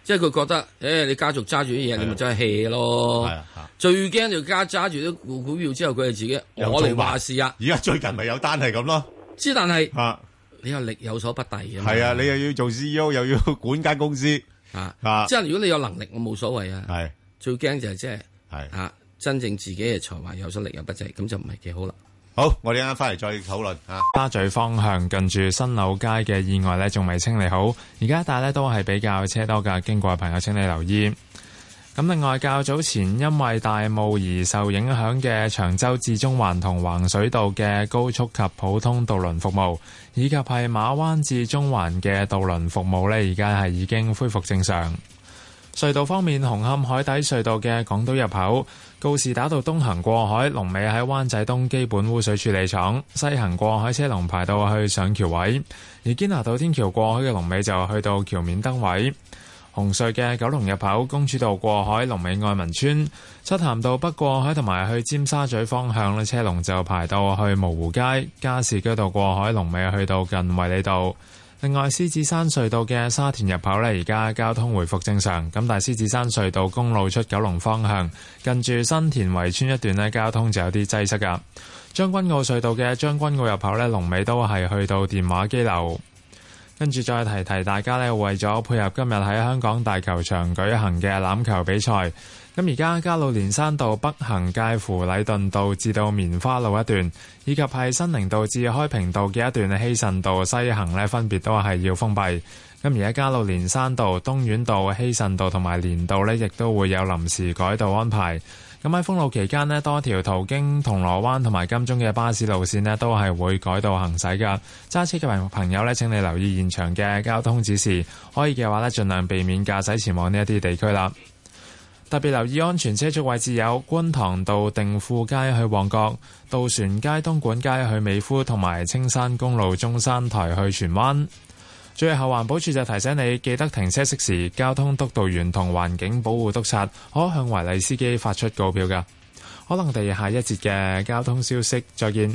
即係佢覺得，你家族揸住啲嘢，你咪真係 hea 咯。最驚就揸住啲股票之後，佢係自己我嚟話事啊。 而家最近咪有單係咁咯。 之但係你又力有所不逮嘅。 係啊，你又要做 CEO，又要管間公司即係如果你有能力，我冇所謂啊。係最驚就係即係真正自己嘅才華有所力有不濟，咁就唔係幾好啦。 好，我哋啱啱翻嚟再討論沙咀方向近住新柳街嘅意外呢，仲未清理好，而家一帶呢都係比較車多㗎，經過嘅朋友請你留意。咁另外，較早前因為大霧而受影響嘅長洲至中環同橫水道嘅高速及普通渡輪服務，以及係馬灣至中環嘅渡輪服務呢，而家係已經恢復正常。隧道方面，紅磡海底隧道嘅港島入口告士打道東行過海，龍尾喺灣仔東基本污水處理廠；西行過海車龍排到去上橋位，而堅拿道天橋過海嘅龍尾就去到橋面燈位。紅隧嘅九龍入口公主道過海，龍尾愛民村；漆咸道北過海同埋去尖沙咀方向咧，車龍就排到去蕪湖街；加士居道過海龍尾去到近衛理道。另外，獅子山隧道嘅沙田入口呢，而家交通回復正常。咁但係獅子山隧道公路出九龍方向，近住新田圍村一段呢，交通就有啲擠塞噶。將軍澳隧道嘅將軍澳入口呢，龍尾都係去到電話機樓。跟住再提提大家呢，為咗配合今日喺香港大球場舉行嘅欖球比賽，咁而家加路連山道北行介乎禮頓道至到棉花路一段，以及係新寧道至開平道嘅一段希慎道西行呢，分別都係要封閉。咁而家加路連山道、東院道、希慎道同埋連道呢，亦都會有臨時改道安排。咁喺封路期間呢，多條途經銅鑼灣同埋金鐘嘅巴士路線呢，都係會改道行駛㗎。揸車嘅朋友呢，請你留意現場嘅交通指示，可以嘅話呢，盡量避免駕駛前往呢一啲地區啦。特別留意安全車速位置有觀塘道定富街去旺角、渡船街東莞街去美孚同埋青山公路中山台去荃灣。最後，環保署就提醒你記得停車熄匙，交通督導員同環境保護督察可向違例司機發出告票㗎。可能我哋下一節嘅交通消息再見。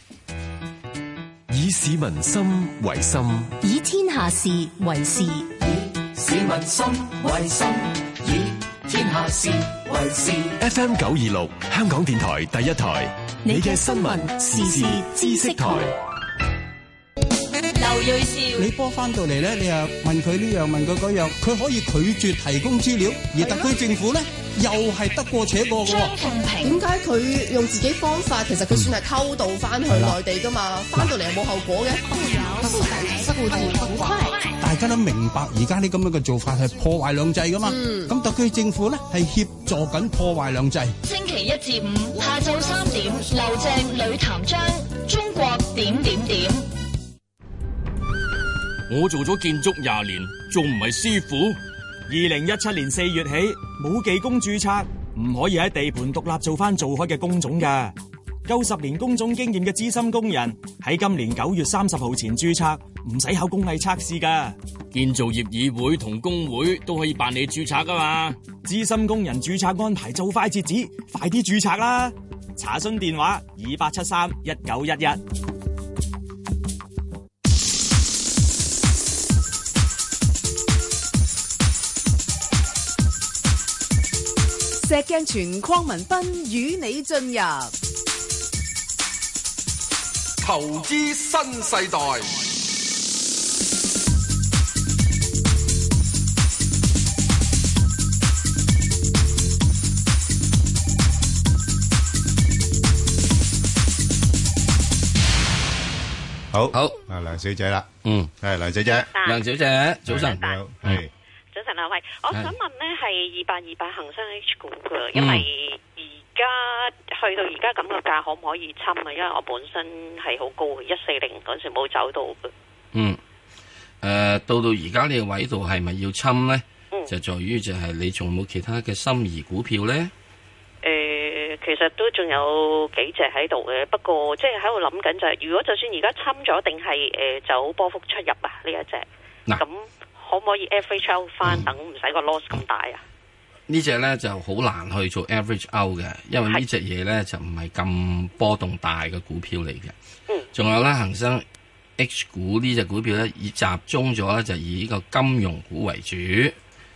以市民心為心， 以天下事為事，以市民心為心，以天下事為事。 FM 926香港電台第一台，你嘅新聞時事知識台。 劉瑞兆，你波翻到嚟咧，你又問佢呢樣問佢嗰樣，佢可以拒絕提供資料，而特區政府咧又係得過且過嘅。張鳳平，點解佢用自己方法，其實佢算係偷渡翻去內地噶嘛？翻到嚟又冇後果嘅。大家都明白而家呢咁樣嘅做法係破壞兩制噶嘛？咁特區政府咧係協助緊破壞兩制。 星期一至五下晝3點，劉鄭呂譚章，中國點點點。 我做咗建築20年，仲唔係師傅？2017年4月起，冇技工註冊，唔可以喺地盤獨立做翻做開嘅工種噶。夠10年工種經驗嘅資深工人喺今年9月30號前註冊，唔使考工藝測試噶。 建造業議會同工會都可以辦理註冊噶嘛。 資深工人註冊安排就快截止，快啲註冊啦！查詢電話28731911。 石鏡泉鄺民彬與你進入投資新世代。 好，梁小姐啦，係梁小姐， 梁小姐，早晨， 係。 早晨啊，喂，我想問咧係2828恒生 H 股嘅，因為而家去到而家咁嘅價，可唔可以侵啊？因為我本身係好高嘅，140嗰時冇走到嘅。 到而家呢個位度係咪要侵咧？就在於就係你仲冇其他嘅心儀股票咧？ 其實都仲有幾隻喺度嘅，不過即係喺度諗緊就係，如果就算而家侵咗，定係走波幅出入啊？呢一隻咁。可唔可以 average out 翻，等唔使個 loss 咁大啊？ 呢隻咧就好難去做 average out 嘅，因為呢隻嘢咧就唔係咁波動大嘅股票嚟嘅。仲有咧恒生 H 股呢隻股票咧，以集中咗咧就以呢個金融股為主，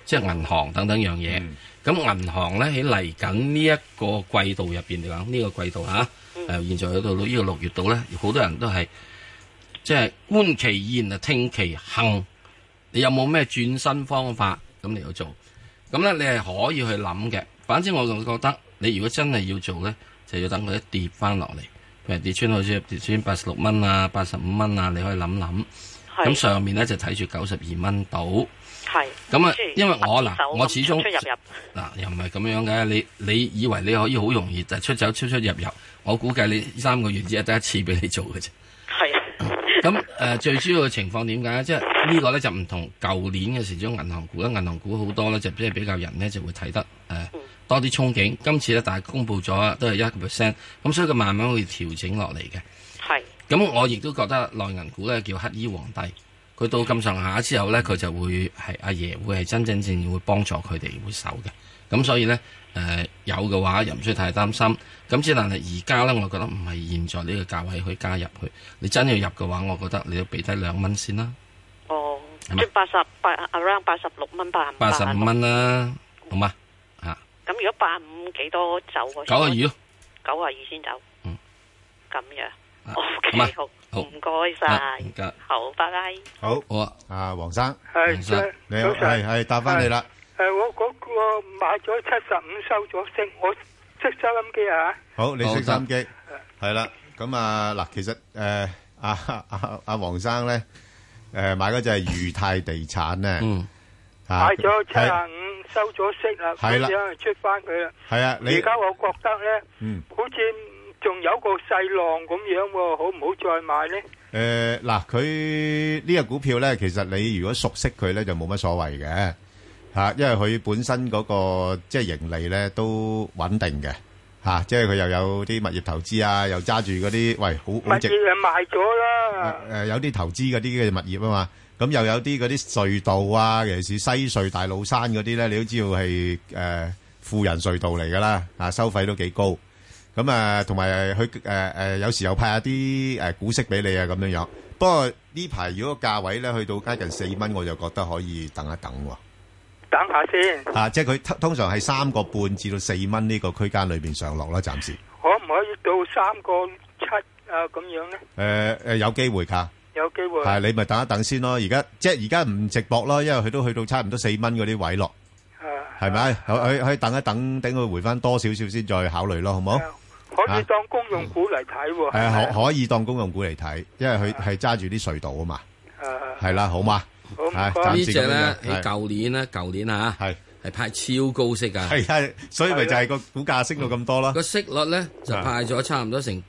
即係銀行等等樣嘢。咁銀行咧喺嚟緊呢一個季度入邊嚟講，呢個季度現在去到呢個6月度咧，好多人都係即係觀其言啊，聽其行。你有冇咩轉身方法咁嚟去做？咁咧你係可以去諗嘅。反正我就覺得，你如果真係要做咧，就要等佢一跌翻落嚟，譬如跌穿好似跌穿86蚊啊、85蚊啊，你可以諗諗。咁上面咧就睇住92蚊到。係。咁啊，因為我始終出又唔係咁樣嘅。你以為你可以好容易就出走出入，我估計你3個月只係得一次俾你做嘅啫。係。咁最主要嘅情況點解？即係呢個咧就唔同舊年嘅時鐘銀行股啦，銀行股好多咧就即係比較人咧就會睇得多啲憧憬。今次咧但係公佈咗都係1%，咁所以佢慢慢會調整落嚟嘅。係。咁我亦都覺得內銀股咧叫乞衣皇帝，佢到咁上下之後咧，佢就會係阿爺會係真真正正會幫助佢哋會守嘅。咁所以咧有嘅話又唔需要太擔心。咁之但係而家咧，我覺得唔係現在呢個價位去加入去。你真要入嘅話，我覺得你要俾低2蚊先啦。哦，即係 around 86蚊 85蚊啦，好嘛？ 咁如果85幾多走 ？92咯 ，92先走。咁樣。OK， 好，唔該晒。好，拜拜。 好，阿黃生， 係， 你好，係答翻你啦。 我嗰個買咗75收咗息，我識收音機啊。 好，你識收音機，係啦。咁嗱，其實阿黃生咧，買嗰隻係裕泰地產咧， 買咗75收咗息啦，咁樣出翻佢啦。係啊，而家我覺得咧，好似仲有個細浪咁樣喎，好唔好再買咧？ 嗱，佢呢個股票咧，其實你如果熟悉佢咧，就冇乜所謂嘅嚇，因為佢本身嗰個即係盈利咧都穩定嘅嚇，即係佢又有啲物業投資啊，又揸住嗰啲喂好值。物業賣咗啦。 有啲投資嗰啲嘅物業啊嘛，咁又有啲嗰啲隧道啊，尤其是西隧大老山嗰啲咧，你都知道係富人隧道嚟噶啦，收費都幾高。咁同埋佢有時又派下啲股息俾你啊，咁樣樣。不過呢排如果價位咧去到接近4蚊，我就覺得可以等一等喎。 等下先。 即係佢通常係3個半至到4蚊呢個區間裏邊上落啦，暫時。 可唔可以到3個7啊？咁樣咧？ 有機會㗎。 有機會。 係你咪等一等先咯。而家唔直博咯，因為佢都去到差唔多4蚊嗰啲位落。係咪？可以等一等，等佢回翻多少少先再考慮咯，好唔好？ 可以當公用股嚟睇喎。係啊， 可以當公用股嚟睇，因為佢係揸住啲隧道啊嘛。係啦，好嘛。 好唔該。 呢隻咧喺舊年係派超高息噶。 係啊，所以咪就係個股價升到咁多咯。 個息率咧就派咗差唔多成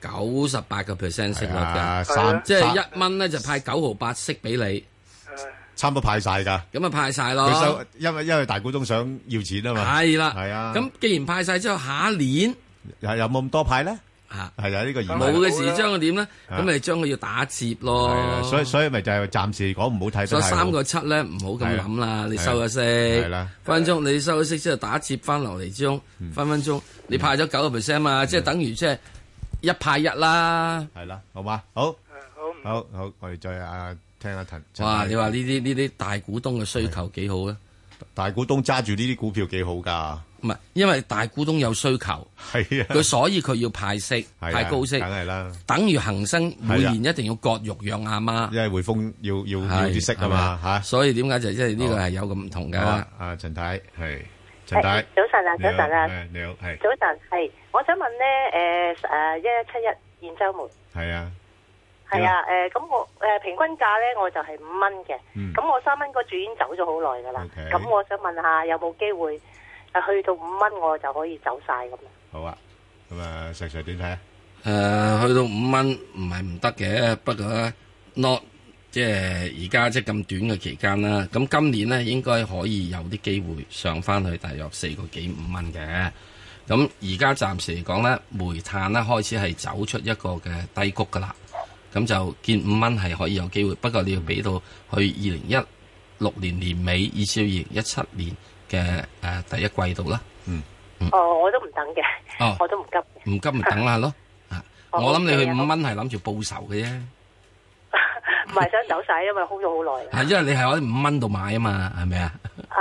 98%息率嘅，即係1蚊咧就派9毫8息俾你。 差唔多派晒噶， 咁啊派晒咯。 佢收，因為大股東想要錢啊嘛。 係啦， 係啊。 咁既然派晒之後，下一年有冇咁多派咧？係啊，呢個冇嘅時將佢點咧？咁咪將佢要打折咯。 係啊，所以咪就係暫時嚟講唔好睇得太好。 所以3個7咧唔好咁諗啦。你收咗息，分分鐘你收咗息之後打折翻落嚟之中，分分鐘你派咗9%嘛，即係等於即係1派1啦。 係啦，好嘛？好，好，我哋再聽下陳。 哇！你話呢啲大股東嘅需求幾好啊？ 大股東揸住呢啲股票幾好噶？ 唔係，因為大股東有需求， 係啊， 佢所以佢要派息，派高息， 梗係啦。 等於恒生每年一定要割肉養阿媽， 因為匯豐要啲息啊嘛嚇。 所以點解就即係呢個係有個唔同㗎？ 阿陳太係陳太， 早晨啊，早晨啊， 你好，係早晨係，我想問咧1171現週末係啊。 係啊，咁我平均價咧我就係5蚊嘅，咁我3蚊嗰注已經走咗好耐噶啦，咁我想問下有冇機會去到5蚊我就可以走晒咁啊？ 好啊，咁啊石 Sir 點睇啊？ 去到5蚊唔係唔得嘅，不過咧 not 即係而家即係咁短嘅期間啦，咁今年咧應該可以有啲機會上翻去大約4個幾5蚊嘅，咁而家暫時嚟講咧，煤炭咧開始係走出一個嘅低谷噶啦。咁就見5蚊係可以有機會，不過你要俾到去2016年年尾，以至2017年嘅第一季度啦。 我都唔等嘅，我都唔急。 唔急咪等下咯。我諗你去5蚊係諗住報仇嘅啫。 唔係想走晒，因為 hold 咗好耐。 係因為你係喺5蚊度買啊嘛，係咪啊？ 係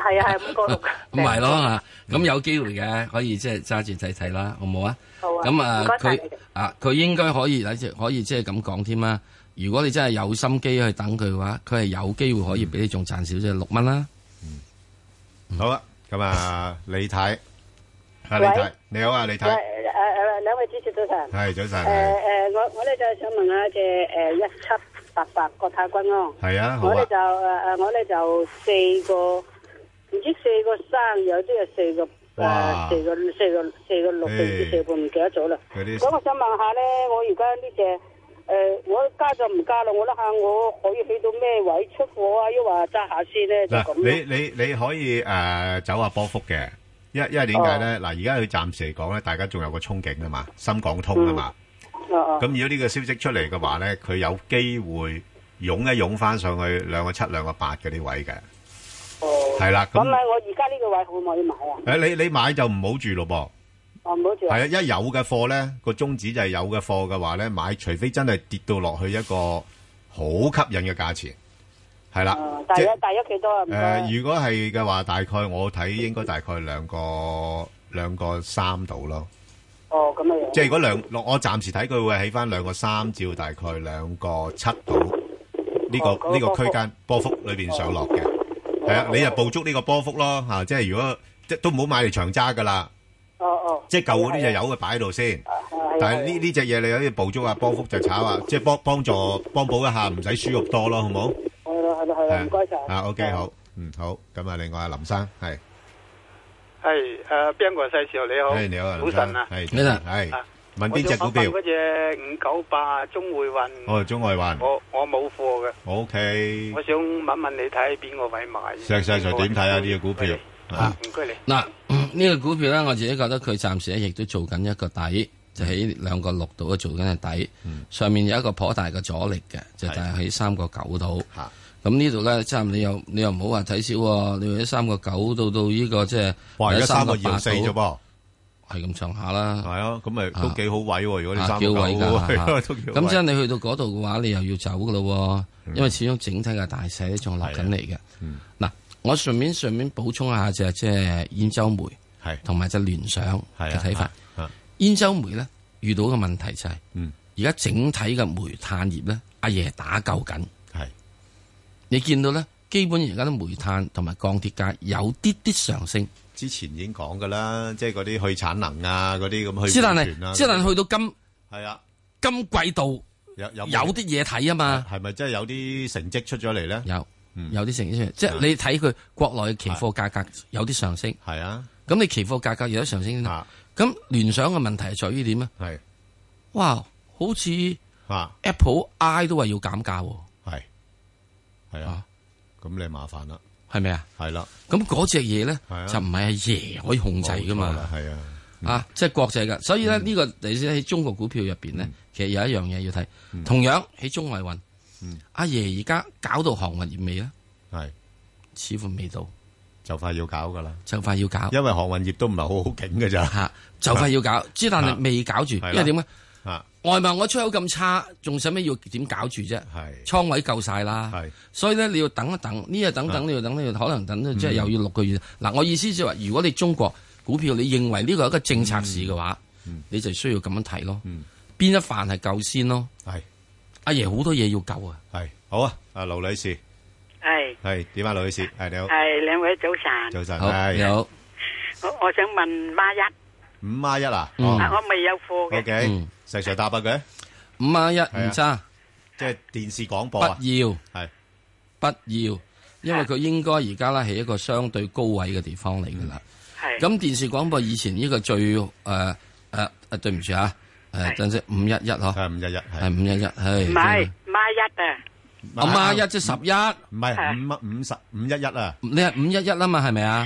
係啊係5個6。 咁咪咯嚇，咁有機會嘅，可以即係揸住睇睇啦，好冇啊？ 好啊。 咁佢應該可以即係咁講添啦。如果你真係有心機去等佢嘅話，佢係有機會可以俾你仲賺少少6蚊啦。 好啊，咁李太，李太，你好啊，李太。 兩位主持早晨。 係早晨。 我咧就想問下隻1788國泰君安。 係啊，好啊。 我咧就4個，唔知4個3，有啲係4個4個6定唔知4個唔記得咗啦。咁我想問下咧，我而家呢隻。我加就唔加啦，我諗下我可以去到咩位出貨啊？抑或揸下先咧就咁。 你可以走下波幅嘅，因為點解咧？嗱，而家佢暫時嚟講咧，大家仲有個憧憬啊嘛，深港通啊嘛。咁如果呢個消息出嚟嘅話咧，佢有機會湧一湧翻上去2個7、2個8嗰啲位嘅。係啦。 咁我而家呢個位可唔可以買啊？ 你買就唔好住咯噃。係啊，一有嘅貨咧，個宗旨就係有嘅貨嘅話咧，買，除非真係跌到落去一個好吸引嘅價錢，係啦。 大約幾多啊？ 如果係嘅話，大概我睇應該大概2個3度咯。 哦，咁樣。 即係如果我暫時睇佢會起翻2個3至大概2個7度呢個區間波幅裏邊上落嘅。係啊，你就捕捉呢個波幅咯吓，即係如果即都唔好買嚟長揸噶啦。即係舊嗰啲就有嘅擺喺度先，但係呢隻嘢你可以捕捉下波幅就炒啊，即係幫補一下，唔使輸肉多咯，好唔好？ 係啦，唔該晒。 OK 好，好，咁另外林生係邊個細時候你好？ 你好， 早晨啊， 係問邊隻股票？ 嗰隻598中匯運。 哦，中匯運。 我冇貨嘅。 OK。 我想問你睇邊個位買？ 石 Sir 點睇啊？呢隻股票？ 唔該你。 嗱，呢個股票咧，我自己覺得佢暫時咧亦都做緊一個底，就喺2個6度做緊嘅底，上面有一個頗大嘅阻力嘅，就係喺3個9度。咁呢度咧，即係你又唔好話睇少喎，你喺3個9到呢個即係， 哇！而家3個2.4啫噃， 係咁上下啦。 係啊，咁咪都幾好位喎！如果你3個 9，咁即係你去到嗰度嘅話，你又要走噶咯，因為始終整體嘅大勢仲落緊嚟嘅。嗱。我順便補充一下即係兗州煤，同埋隻聯想嘅睇法。兗州煤咧遇到嘅問題就係，而家整體嘅煤炭業咧，阿爺打救緊。你見到咧，基本而家啲煤炭同埋鋼鐵價有啲上升。 之前已經講噶啦，即係嗰啲去產能啊，嗰啲咁去。 之但係去到今季度有啲嘢睇啊嘛。 係咪真係有啲成績出咗嚟咧？ 有啲成績出嚟，即係你睇佢國內嘅期貨價格有啲上升。 係啊， 咁你期貨價格有啲上升，咁聯想嘅問題係在於點啊？ 係， 哇，好似 Apple I 都話要減價喎。 係啊，咁你麻煩啦， 係咪啊？ 係啦， 咁嗰隻嘢咧就唔係阿爺可以控制噶嘛。 係啊， 即係國際噶，所以咧呢個你先喺中國股票入邊咧，其實有一樣嘢要睇，同樣喺中外運。阿爺而家搞到航運業未咧？ 係， 似乎未到， 就快要搞噶啦， 就快要搞， 因為航運業都唔係好好景㗎咋， 吓，就快要搞，之但係未搞住，因為點咧？外貿我出口咁差，仲使咩要點搞住啫？係，倉位夠晒啦，係，所以咧你要等一等，呢日等，你要等，可能等即係又要6個月。嗱，我意思即係話，如果你中國股票你認為呢個係一個政策市嘅話，你就需要咁樣睇咯，邊一範係夠先咯，係。阿爺好多嘢要救啊！ 係好啊，阿盧女士係點啊？盧女士係你好， 係兩位早晨， 早晨你好。 我想問5+1 啊？ 我未有貨嘅。 OK，石 Sir 答下佢 5+1唔差， 即係電視廣播啊？ 不要，因為佢應該而家咧係一個相對高位嘅地方嚟噶啦。係咁電視廣播以前呢個最對唔住啊。等陣511嗬， 係511， 係511，係唔係5+1啊？ 我5+1即係11， 唔係511啊？ 你係511啊嘛？係咪啊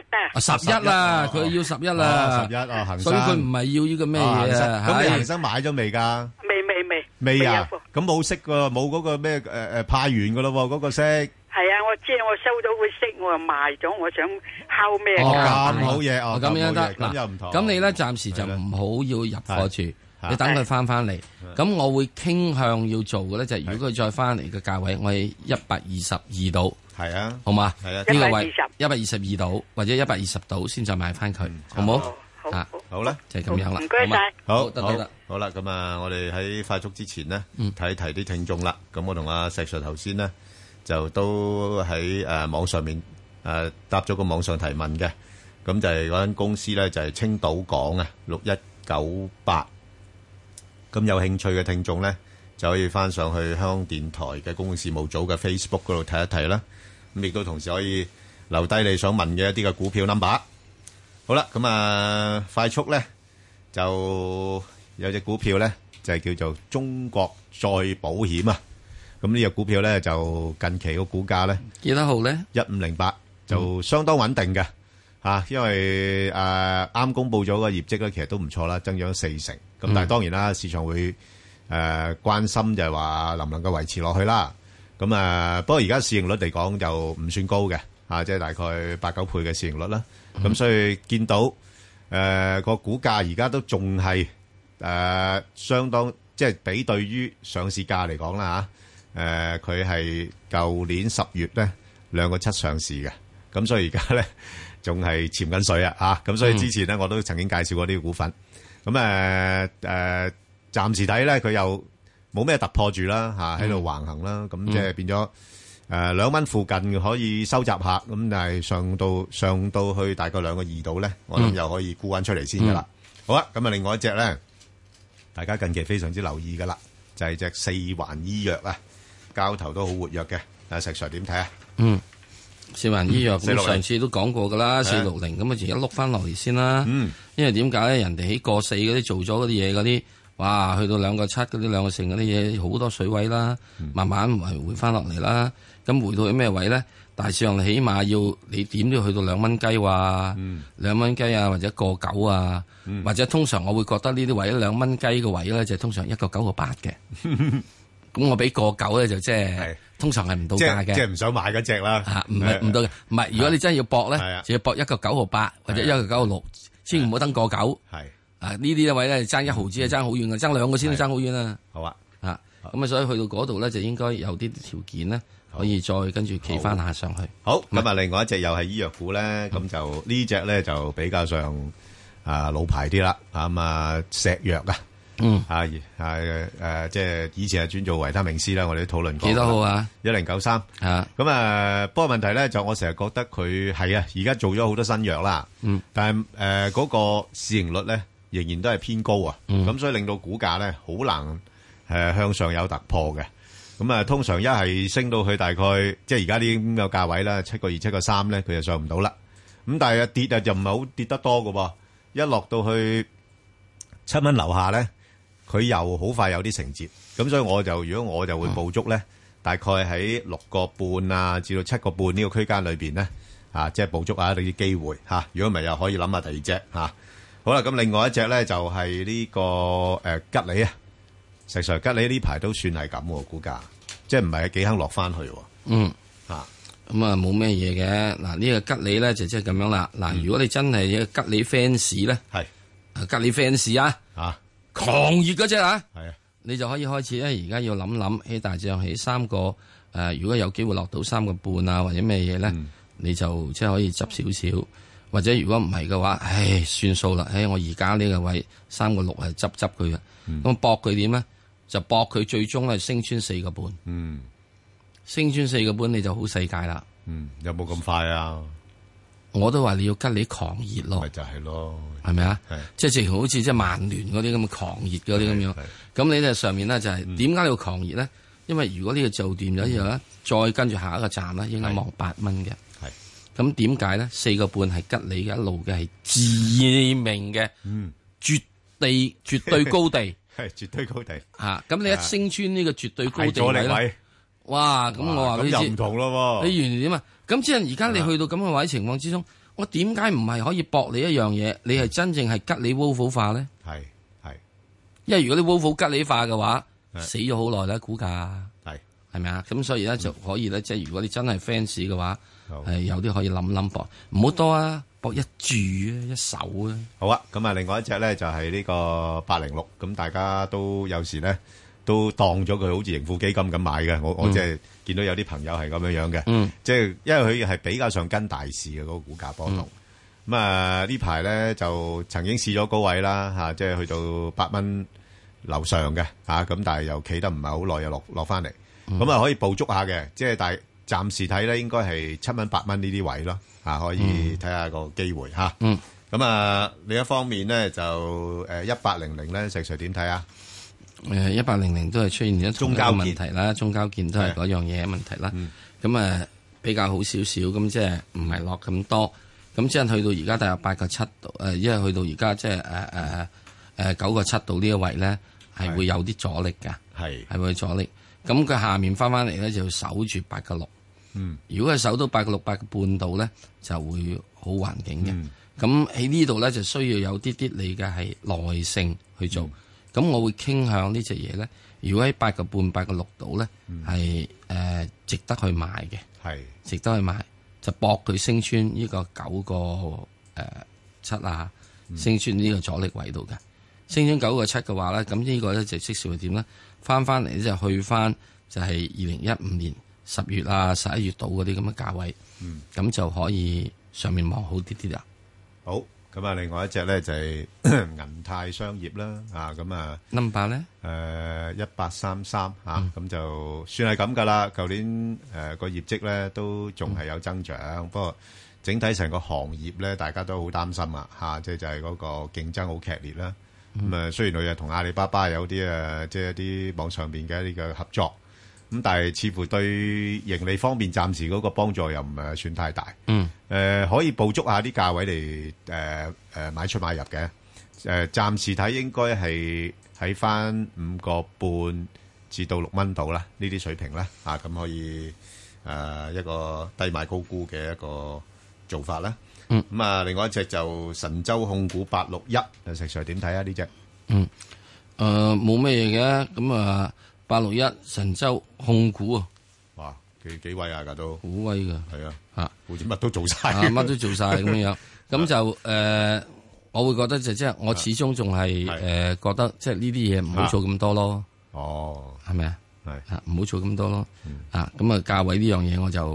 ？11啊！佢要11啦 ，11啊，恒生， 所以佢唔係要呢個咩嘢啊？ 咁你恒生買咗未噶？未啊？咁冇息噶，冇嗰個咩派完噶咯？嗰個息係啊，我知我收到個息，我又賣咗，我想敲咩價？ 咁好嘢哦， 咁樣得咁又唔同。 咁你咧暫時就唔好要入貨住。 你等佢翻嚟。咁我會傾向要做嘅咧，就係如果佢再翻嚟嘅價位，我係122度。 係啊， 好嘛？ 係啊， 呢個位122度或者120度先再買翻佢，好冇？ 好啦， 就係咁樣啦。 唔該晒。 好，得。好啦，咁啊，我哋喺快速之前呢，睇一睇啲聽眾啦。咁我同阿石 Sir 頭先呢，就都喺網上面答咗個網上提問嘅。咁就係嗰間公司咧，就係青島港啊，6198。咁有興趣嘅聽眾咧，就可以翻上去香港電台嘅公共事務組嘅 Facebook 嗰度睇一睇啦。咁亦都同時可以留低你想問嘅一啲嘅股票 number。好啦，咁啊，快速咧就有隻股票咧，就係叫做中國再保險啊。咁呢隻股票咧就近期個股價咧幾多號咧 ？1508就相當穩定嘅。因為啱公布咗個業績咧，其實都唔錯啦，增長4成。咁但係當然啦，市場會關心就係話能唔能夠維持落去啦。咁不過而家市盈率嚟講就唔算高嘅，即係大概8-9倍嘅市盈率啦。咁所以見到個股價而家都仲係相當，即係比對於上市價嚟講啦佢係舊年10月咧2個7上市嘅。咁所以而家咧仲係潛緊水啊！咁所以之前咧我都曾經介紹過呢個股份。咁暫時睇咧佢又冇咩突破住啦，喺度橫行啦。咁即係變咗2蚊附近可以收集下。咁但係上到去大概2個2度咧，我諗又可以沽翻出嚟先噶啦。好啦，咁另外一隻咧，大家近期非常之留意噶啦，就係隻四環醫藥啊，交投都好活躍嘅。石 Sir 點睇啊？ 四環醫藥咁上次都講過噶啦，460咁啊，而家碌翻落嚟先啦。因為點解咧？人哋喺過4嗰啲做咗嗰啲嘢嗰啲，哇，去到2個7嗰啲2個成嗰啲嘢，好多水位啦，慢慢回翻落嚟啦。咁回到去咩位咧？大致上起碼要你點都要去到2蚊雞哇，2蚊雞啊，或者1個9啊，或者通常我會覺得呢啲位2蚊雞嘅位咧，就通常1個9個8嘅。咁我俾1個9咧，就即係。通常係唔到價嘅， 即係唔想買嗰隻啦。 唔係唔到嘅，唔係。如果你真係要搏咧，就要搏1個9毫8或者1個9毫6，千祈唔好登1個9。係呢啲位咧爭1毫子啊，爭好遠嘅，爭2個先都爭好遠啊。 好啊， 咁啊，所以去到嗰度咧就應該有啲條件咧，可以再跟住企翻下上去。 好，咁啊，另外一隻又係醫藥股咧，咁就呢隻咧就比較上老牌啲啦。咁啊，石藥啊。即係以前係專做維他命 C 啦，我哋都討論過。 幾多號啊 ？1093。咁不過問題咧就我成日覺得佢係而家做咗好多新藥啦。但係嗰個市盈率咧仍然都係偏高啊。咁所以令到股價咧好難向上有突破嘅。咁通常一係升到去大概即係而家啲咁嘅價位啦，7個2、7個3咧，佢就上唔到啦。咁但係跌就唔係好跌得多㗎喎。一落到去7蚊樓下咧。佢又好快有啲承接，咁所以如果我就會捕捉咧，大概喺6個半啊至到7個半呢個區間裏邊咧，即係捕捉下啲機會嚇。如果唔係又可以諗下第二隻嚇。好啦，咁另外一隻咧就係呢個吉利啊，石 Sir 吉利呢排都算係咁喎，股價即係唔係幾肯落翻去喎。 咁啊冇咩嘢嘅。嗱呢個吉利咧就即係咁樣啦。嗱，如果你真係一個吉利 fans 咧，吉利 fans 啊。狂熱嗰隻你就可以開始咧。而家要諗喺大致上起3個如果有機會落到3個半啊，或者咩嘢咧，你就即係可以執少少。或者如果唔係嘅話，算數啦。我而家呢個位3個6係執佢嘅。咁搏佢點咧？就搏佢最終係升穿4個半。升穿4個半你就好世界啦。 有冇咁快啊？ 我都話你要吉利狂熱咯， 咪就係咯， 係咪啊？即係直情好似即係曼聯嗰啲咁嘅狂熱嗰啲咁樣。咁你咧上面咧就係點解你要狂熱咧？因為如果呢個做掂咗之後咧，再跟住下一個站咧，應該望8蚊嘅。咁點解咧？4個半係吉利嘅一路嘅係致命嘅，絕對高地， 係絕對高地。 咁你一升穿呢個絕對高地位，哇！咁我話咁又唔同咯。 你原來點啊？咁即係而家你去到咁嘅位情況之中，我點解唔係可以搏你一樣嘢？你係真正係吉利 Volvo 化咧？ 係， 因為如果你 Volvo 吉利化嘅話，死咗好耐啦，股價係咪啊？咁所以咧就可以咧，即係如果你真係 fans 嘅話，有啲可以諗搏，唔好多啊， 搏一注一手啊。 好啊，咁啊，另外一隻咧就係呢個806，咁大家都有時咧都當咗佢好似盈富基金咁買嘅。我即係見到有啲朋友係咁樣嘅，即係因為佢係比較上跟大市嘅嗰個股價波動。咁啊呢排咧就曾經試咗高位啦嚇，即係去到8蚊樓上嘅嚇，咁但係又企得唔係好耐，又落翻嚟。咁啊可以捕捉下嘅，即係但係暫時睇咧應該係7蚊8蚊呢啲位咯。可以睇下個機會嚇。咁啊，另一方面咧就1800咧，石 Sir 點睇啊 ？1800都係出現咗中交問題啦，中交建都係嗰樣嘢問題啦。咁比較好少少，咁即係唔係落咁多。咁即係去到而家大約8個7度，因為去到而家即係9個7度呢一位咧，係會有啲阻力㗎，係會阻力。咁佢下面翻嚟咧就要守住8個6。如果係守到8個6、8個半度咧，就會好環境嘅。咁喺呢度咧就需要有啲你嘅係耐性去做。咁我會傾向呢隻嘢咧，如果喺8個半、8個6度咧，係值得去買嘅，值得去買，就搏佢升穿呢個9個7啊，升穿呢個阻力位度嘅。升穿9個7嘅話咧，咁呢個咧就即時會點咧？翻嚟咧就去翻就係2015年10月啊11月度嗰啲咁嘅價位，咁就可以上面望好啲啦。 好，咁啊，另外一隻咧就係銀泰商業啦，咁啊 number 咧 1833咁就算係咁噶啦。舊年個業績咧都仲係有增長，不過整體成個行業咧大家都好擔心即係就係嗰個競爭好劇烈啦。咁雖然佢又同阿里巴巴有啲即係一啲網上邊嘅一啲嘅合作。咁但係似乎對盈利方面暫時嗰個幫助又唔係算太大。可以捕捉下啲價位嚟買出買入嘅。暫時睇應該係喺翻5個半至到6蚊度啦，呢啲水平啦。咁可以一個低買高沽嘅一個做法啦。咁啊，另外一隻就神州控股861，石 Sir 點睇啊？呢隻冇咩嘢嘅，咁啊。861神州控股啊， 哇，幾威啊，都好威噶， 係啊，好似乜都做晒， 乜都做晒咁樣，咁就我會覺得就即係我始終仲係覺得即係呢啲嘢唔好做咁多咯，係咪啊？係唔好做咁多咯，咁啊價位呢樣嘢我就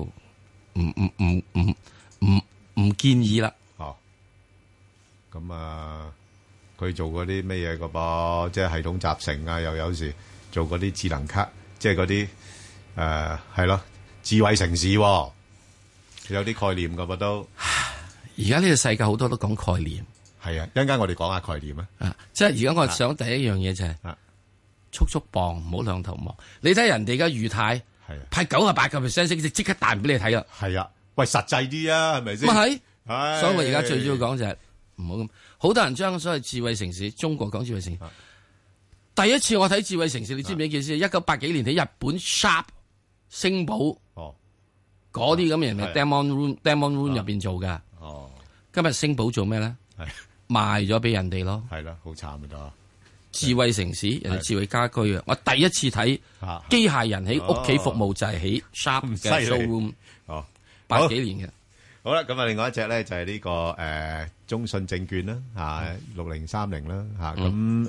唔建議啦。 咁啊，佢做嗰啲咩嘢噶噃？即係系統集成啊，又有時。做嗰啲智能卡，即係嗰啲係咯，智慧城市，有啲概念噶噃都。 而家呢個世界好多都講概念， 係啊，一陣間我哋講下概念啊。 即係而家我想第一樣嘢就係速速磅，唔好兩頭望。你睇人哋而家裕泰派98%息，即刻彈俾你睇啦。 係啊，喂，實際啲啊，係咪先？ 咪係，所以我而家最主要講就係唔好咁。好多人將所謂智慧城市，中國講智慧城市。第一次我睇智慧城市，你知唔知件事？1980幾年喺日本 Sharp 星寶嗰啲咁嘅人係 Demon Room 入邊做㗎。今日星寶做咩咧？賣咗俾人哋咯。係啦，好慘㗎。智慧城市，人哋智慧家居啊！我第一次睇機械人喺屋企服務就係喺 Sharp 嘅 showroom。80幾年嘅。 好啦，咁啊，另外一隻咧就係呢個中信證券啦，6030啦，咁。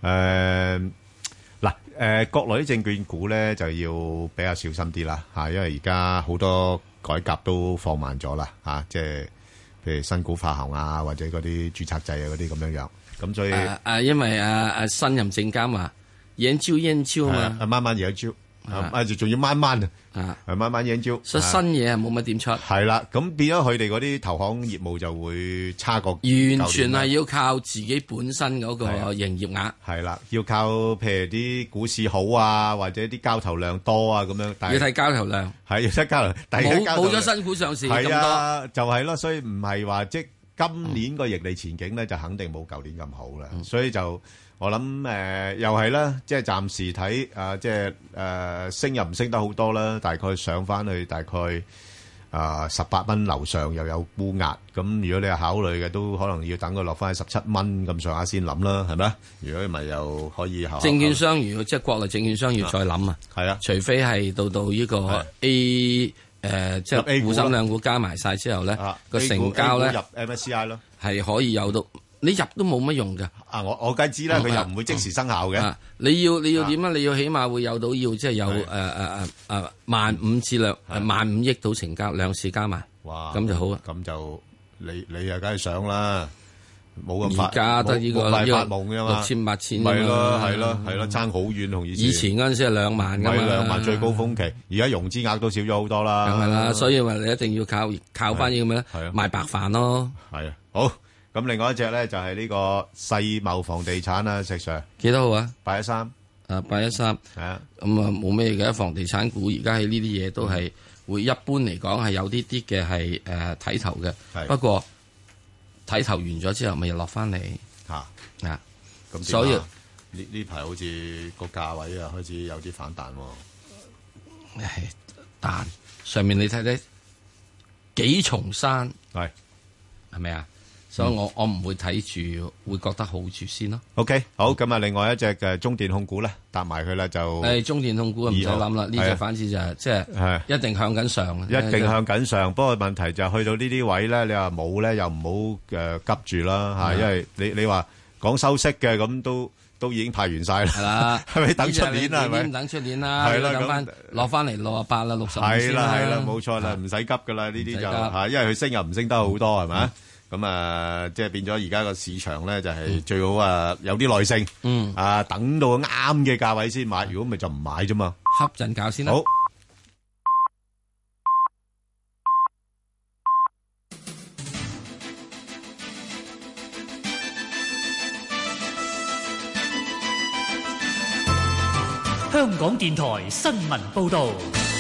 國內啲證券股咧就要比較小心啲啦，因為而家好多改革都放慢咗啦，即係譬如新股發行啊，或者嗰啲註冊制啊嗰啲咁樣，咁所以因為新任證監話研究嘛， 慢慢研究。仲要慢慢慢慢研究， 所以新嘢係冇乜點出。 係啦，咁變咗佢哋嗰啲投行業務就會差過。 完全係要靠自己本身嗰個營業額。 係啦，要靠譬如啲股市好啊，或者啲交投量多啊咁樣。 要睇交投量。 係要睇交投量。 冇咗新股上市咁多。係啊，就係咯，所以唔係話即今年個盈利前景咧，就肯定冇舊年咁好啦。所以就。我諗又係啦，即係暫時睇即係升又唔升得好多啦，大概上翻去大概18蚊樓上又有沽壓，咁如果你係考慮嘅，都可能要等佢落翻去17蚊咁上下先諗啦，係咪？如果唔係又可以考。 證券商如果即係國內證券商要再諗啊， 係啊， 除非係到呢個即係滬深兩股加埋晒之後咧，個成交咧入 MSCI 咯， 係可以有到。你入都冇乜用㗎。 我梗係知啦，佢又唔會即時生效嘅。 你要點啊？你要起碼會有到要即係有15000至15000億到成交兩市加埋，哇！咁就好啊。 咁就你又梗係想啦，冇咁快。 而家得呢個發夢㗎嘛 ，6000、8000。 係咯，爭好遠同以前。 以前嗰陣時係2萬㗎嘛 ，2萬最高峰期。而家融資額都少咗好多啦。 梗係啦，所以話你一定要靠翻呢個咩咧？賣白飯咯。 係啊，好。咁另外一隻咧就係呢個世茂房地產啊，石 Sir 幾多號啊 ？813 813係啊，咁啊冇咩嘅房地產股，而家喺呢啲嘢都係會一般嚟講係有啲嘅係睇頭嘅，不過睇頭完咗之後咪又落翻嚟咁所以呢排好似個價位啊開始有啲反彈喎。 彈上面你睇睇幾重山係咪啊？所以我唔會睇住，會覺得好住先咯。 OK， 好，咁啊，另外一隻嘅中電控股咧，搭埋佢啦就。 中電控股唔使諗啦，呢隻反之就係即係一定向緊上。 一定向緊上，不過問題就係去到呢啲位咧，你話冇咧又唔好急住啦嚇，因為你話講收息嘅咁都已經派完晒啦。係啦，係咪等出年啦？係咪？ 等出年啦，係啦，等翻落翻嚟68啦，65先啦。 係啦，冇錯啦，唔使急噶啦，呢啲就嚇，因為佢升又唔升得好多係咪？咁啊，即係變咗而家個市場咧，就係最好有啲耐性，等到啱嘅價位先買，如果咪就唔買啫嘛。 瞌陣覺先啦。好。 香港電台新聞報導。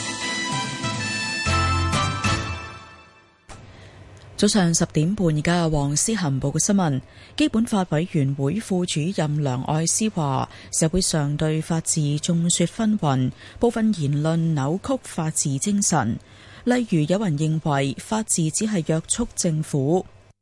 早上10點半，而家黃思涵報嘅新聞。基本法委員會副主任梁愛詩話，社會上對法治眾說紛紜，部分言論扭曲法治精神。例如有人認為法治只係約束政府，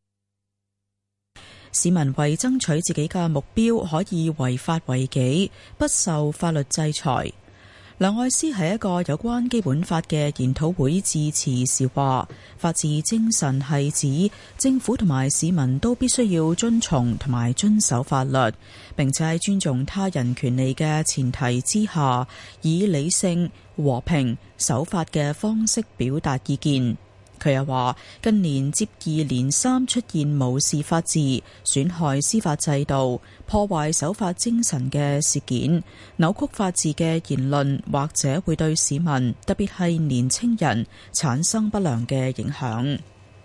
市民為爭取自己嘅目標可以違法違紀，不受法律制裁。梁愛詩喺一個有關基本法嘅研討會致辭時話，法治精神係指政府同埋市民都必須要遵從同埋遵守法律，並且喺尊重他人權利嘅前提之下，以理性、和平、守法嘅方式表達意見。佢又話，近年接二連三出現無視法治、損害司法制度、破壞守法精神嘅事件，扭曲法治嘅言論，或者會對市民，特別係年青人產生不良嘅影響。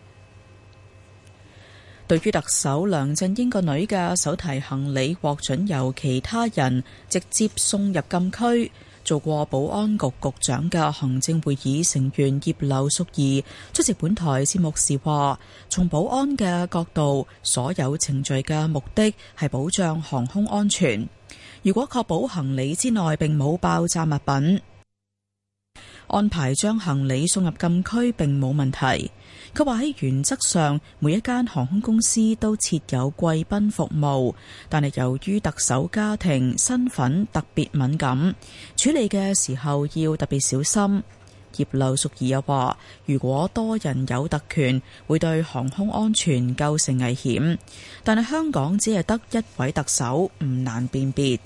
對於特首梁振英個女嘅手提行李獲准由其他人直接送入禁區，做過保安局局長嘅行政會議成員葉劉淑儀出席本台節目時話，從保安嘅角度，所有程序嘅目的係保障航空安全。如果確保行李之內並冇爆炸物品，安排將行李送入禁區並冇問題。佢話喺原則上，每一間航空公司都設有貴賓服務，但係由於特首家庭身份特別敏感，處理嘅時候要特別小心。葉劉淑儀又話，如果多人有特權，會對航空安全構成危險，但係香港只係得一位特首，唔難辨別。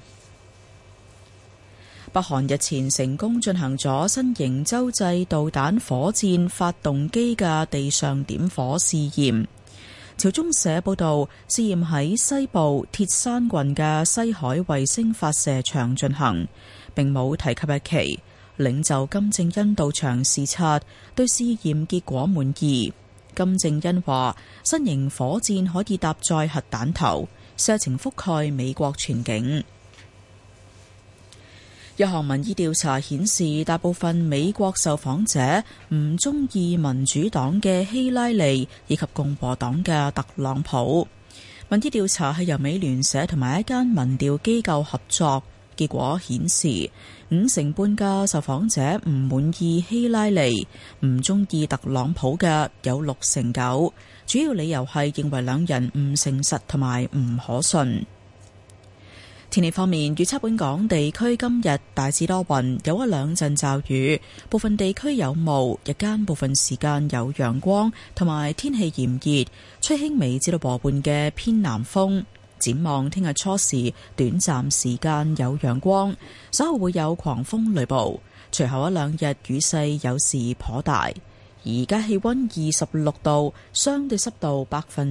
北韓日前成功進行咗新型洲際導彈火箭發動機嘅地上點火試驗。朝中社報道，試驗喺西部鐵山郡嘅西海衛星發射場進行，並冇提及日期。領袖金正恩到場視察，對試驗結果滿意。金正恩話，新型火箭可以搭載核彈頭，射程覆蓋美國全境。一項民意調查顯示，大部分美國受訪者唔中意民主黨嘅希拉里以及共和黨嘅特朗普。民意調查係由美聯社同埋一間民調機構合作，結果顯示50%半嘅受訪者唔滿意希拉里，唔中意特朗普嘅有69%，主要理由係認為兩人唔誠實同埋唔可信。 天氣方面，預測本港地區今日大致多雲，有一兩陣驟雨，部分地區有霧，日間部分時間有陽光，同埋天氣炎熱，吹輕微至到和緩嘅偏南風。展望聽日初時，短暫時間有陽光，稍後會有狂風雷暴，隨後一兩日雨勢有時頗大。而家氣溫26度，相對濕度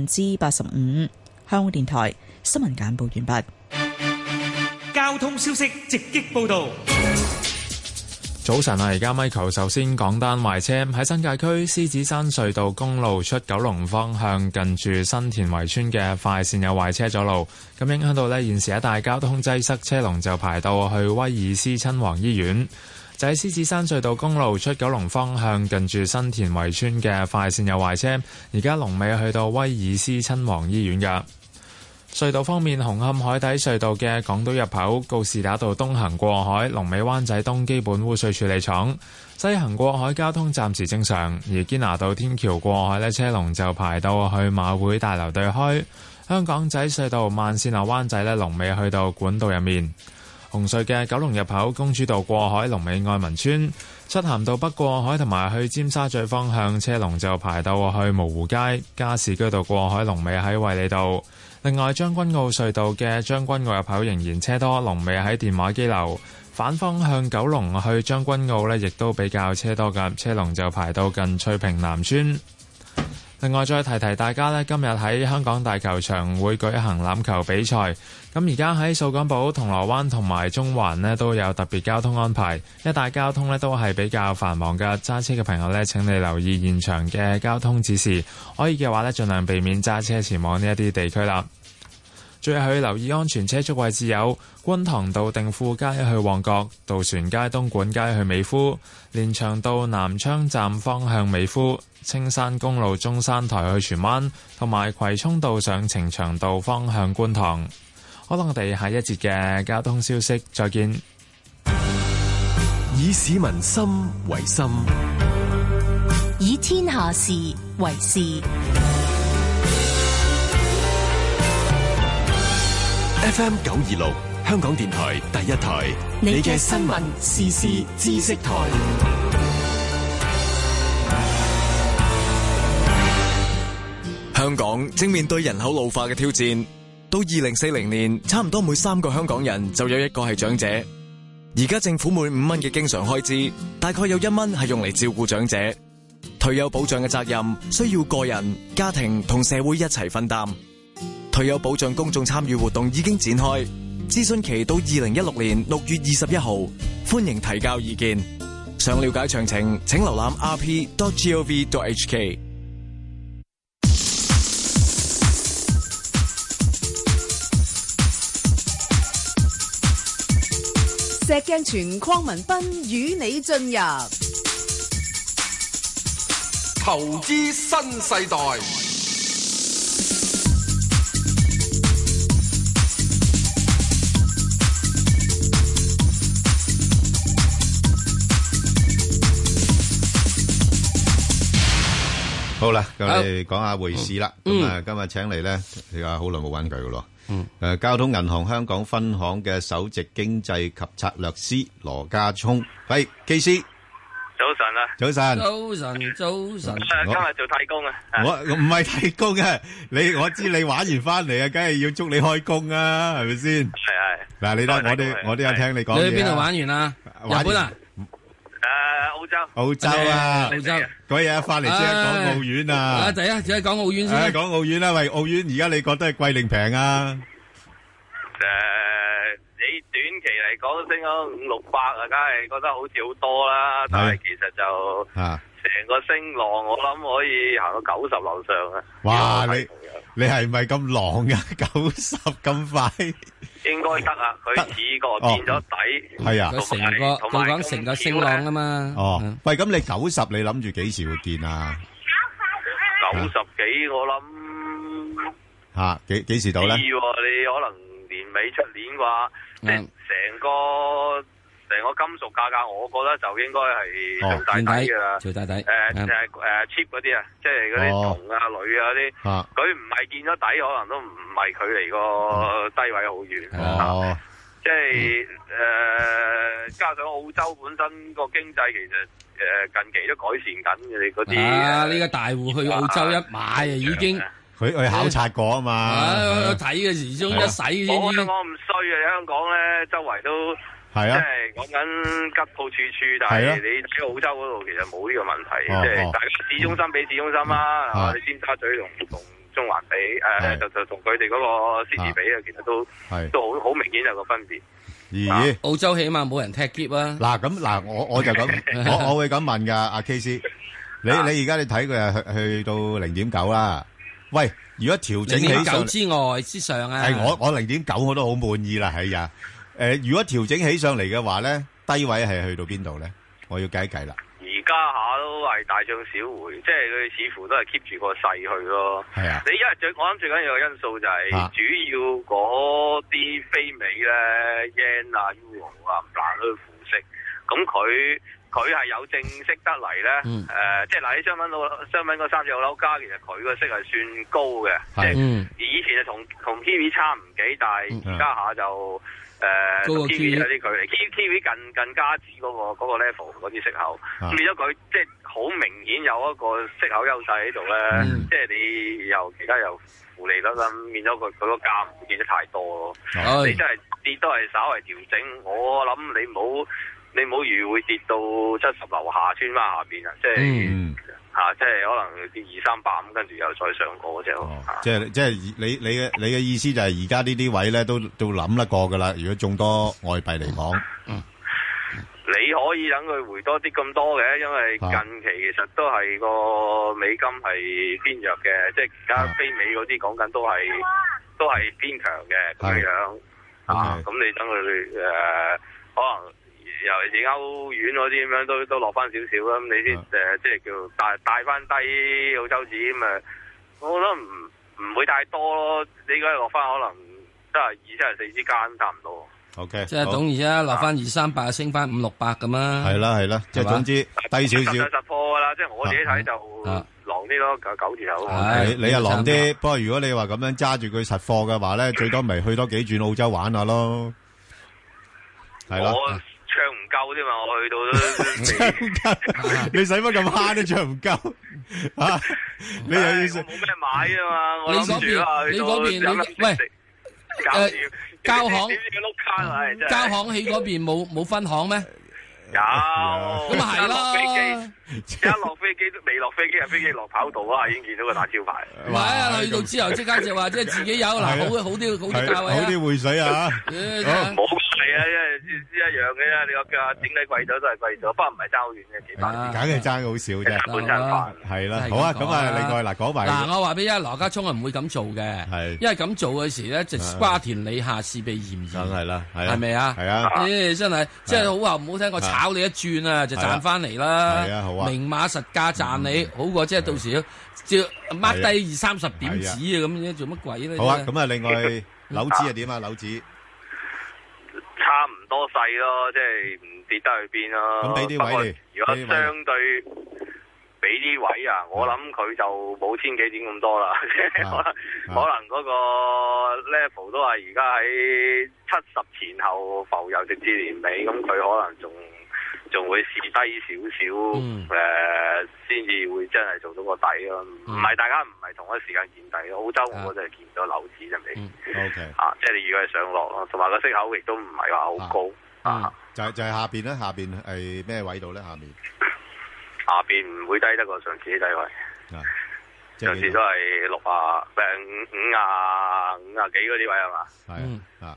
85%。香港電台新聞簡報完畢。 交通消息直擊報道。 早晨啊，而家 Michael 首先講單壞車，喺新界區獅子山隧道公路出九龍方向，近住新田圍村嘅快線有壞車阻路，咁影響到呢現時一帶交通擠塞，車龍就排到去威爾斯親王醫院。就喺獅子山隧道公路出九龍方向，近住新田圍村嘅快線有壞車，而家龍尾去到威爾斯親王醫院㗎。隧道方面，紅磡海底隧道嘅港島入口告士打道東行過海，龍尾灣仔東基本污水處理廠；西行過海交通暫時正常，而堅拿道天橋過海呢，車龍就排到去馬會大樓對開。香港仔隧道慢線落灣仔呢，龍尾去到管道入面。紅隧嘅九龍入口公主道過海，龍尾愛民村；漆咸道北過海同埋去尖沙咀方向，車龍就排到去蕪湖街。加士居道過海，龍尾喺衛理道。另外，將軍澳隧道嘅將軍澳入口仍然車多，龍尾喺電話機樓。反方向九龍去將軍澳呢，亦都比較車多㗎，車龍就排到近翠屏南村。另外，再提提大家呢，今日喺香港大球場會舉行欖球比賽。咁而家喺掃桿埔、銅鑼灣同埋中環呢，都有特別交通安排，一帶交通呢都係比較繁忙嘅。揸車嘅朋友呢，請你留意現場嘅交通指示，可以嘅話呢，盡量避免揸車前往呢一啲地區啦。最後要留意安全車速位置有觀塘道定富街去旺角、渡船街東莞街去美孚、連翔道南昌站方向美孚、青山公路中山台去荃灣，同埋葵涌道上呈祥道方向觀塘。好啦，我哋下一節嘅交通消息再見。 以市民心為心， 以天下事為事。 FM 926，香港電台第一台，你嘅新聞時事知識台。 香港正面對人口老化嘅挑戰，到2040年，差唔多每3個香港人就有1個係長者。而家政府每5蚊嘅經常開支，大概有1蚊係用嚟照顧長者。退休保障嘅責任需要個人、家庭同社會一齊分擔。退休保障公眾參與活動已經展開，諮詢期到2016年6月21號，歡迎提交意見。想了解詳情，請瀏覽 rp.gov.hk。 石鏡泉鄺民彬與你進入投資新世代。 好啦，咁我哋講下匯市啦。咁啊，今日請嚟咧，你話好耐冇揾佢噶咯。交通銀行香港分行嘅首席經濟及策略師羅家聰，喂，KC， 早晨啊， 早晨， 今日做替工啊， 我唔係替工啊，我知你玩完翻嚟啊，梗係要祝你開工啊，係咪先？係。嗱，你睇我都有聽你講嘢。 你去邊度玩完啊？日本啊？ 澳洲啊，嗰日翻嚟即係講澳元啊！ 第一只係講澳元先。 講澳元啦，喂，澳元而家你覺得係貴定平啊？ 你短期嚟講升咗500-600啊，梗係覺得好似好多啦。但係其實就成個升浪，我諗可以行到90樓上啊！ 哇，你係咪咁狼噶？90咁快？ 應該得啊，佢似個見咗底， 係啊， 佢講成個升浪啊嘛。 哦，喂，咁你90，你諗住幾時會見啊 ？90幾，我諗吓幾時到咧？ 你可能年尾出年啩，即係成個金屬價格，我覺得就應該係做大底噶啦， 做大底。 cheap 嗰啲啊，即係嗰啲銅啊、鋁啊嗰啲，佢唔係見咗底，可能都唔係距離個低位好遠。 即係加上澳洲本身個經濟其實近期都改善緊嘅，你嗰啲呢個大戶去澳洲一買啊，已經佢去考察過啊嘛， 睇嘅時鐘一洗先。 我香港唔衰啊，香港咧周圍都係啊， 即係講緊吉鋪處處，但係你喺澳洲嗰度其實冇呢個問題，即係大家市中心比市中心啦，你尖沙咀同中環比，就同佢哋嗰個市值比啊，其實都好明顯有個分別。 咦？ 澳洲起碼冇人踢劫啊！ 嗱，我就咁，我會咁問噶，阿 K 師，你而家你睇佢係去到 0.9 啦。喂，如果調整起上 0.9 之外之上啊， 係我 0.9 我都好滿意啦，係啊。如果調整起上嚟嘅話咧，低位係去到邊度咧？我要計一計啦。 而家下都係大漲小回，即係佢似乎都係 keep 住個勢去咯。係啊，你因為我諗最緊要嘅因素就係主要嗰啲非美咧 yen 啊、euro 啊唔難去負息，咁佢係有正息得嚟咧。即係嗱，你商品嗰3隻樓價，其實佢個息係算高嘅。即係以前係同 Kiwi 差唔幾，但係而家下就。Kiwi 有啲距離，Kiwi 近加指嗰個 level 嗰啲息口，變咗佢即係好明顯有一個息口優勢喺度咧。即係你又其他又負利率啦，變咗佢個價唔會跌得太多咯。你真係跌都係稍為調整，我諗你唔好預會跌到70樓下穿翻下邊啊！即係即係可能跌200-300咁，跟住又再上過嗰隻咯。 即係你嘅意思就係而家呢啲位咧都諗得過噶啦。如果眾多外幣嚟講， 你可以等佢回多啲咁多嘅，因為近期其實都係個美金係偏弱嘅，即係而家非美嗰啲講緊都係偏強嘅咁樣。咁你等佢可能。尤其是歐元嗰啲咁樣都落翻少少啦，咁你先即係叫帶翻低澳洲紙咁啊，我覺得唔會太多咯。你而家落翻可能72-74之間差唔多。 OK， 即係等於啊，落翻200-300，升翻500-600咁啊。 係啦，即係總之低少少。 實貨噶啦，即係我自己睇就狼啲咯，9字頭。 你又狼啲，不過如果你話咁樣揸住佢實貨嘅話咧，最多咪去多幾轉澳洲玩下咯。係咯。 唱唔夠啫嘛，我去到都你使乜咁慳都唱唔夠啊？你又要冇咩買啊嘛？我諗住啊， 你嗰邊喂交行喺嗰邊冇分行咩？ 有咁啊係咯， 一落飛機都未落飛機，飛機落跑道啊，已經見到個大招牌。 唔係啊，去到之後即刻就話即係自己有嗱，好啲價位啊， 好啲匯水啊， 冇係啊，因為一樣嘅啫。你個價整體貴咗都係貴咗，不過唔係爭好遠嘅，幾百， 梗係爭好少啫。 半餐飯係啦，好啊，咁啊，另外嗱講埋嗱，我話俾你聽，羅家聰係唔會咁做嘅，係因為咁做嘅時咧，就瓜田李下，事被嫌疑，梗係啦， 係咪啊？ 係啊， 真係即係好話唔好聽，我炒你一轉啊，就賺翻嚟啦。係啊，好啊，明碼實價賺你，好過即係到時要掹低20-30點子啊，咁樣做乜鬼咧？ 好啊，咁啊，另外樓指係點啊？樓指差唔多細咯，即係唔跌得去邊咯。 咁俾啲位， 如果相對俾啲位啊，我諗佢就冇千幾點咁多啦。可能嗰個 level 都係而家喺70前後浮游，直至年尾，咁佢可能仲會試低少少，先至會真係做到個底咯。唔係大家唔係同一時間見底咯。澳洲我就係見唔到樓指就未。OK，即係你如果係上落咯，同埋個息口亦都唔係話好高。 就係下邊咧，下邊係咩位度咧？下邊唔會低得過上次啲低位。上次都係5幾嗰啲位係嘛？係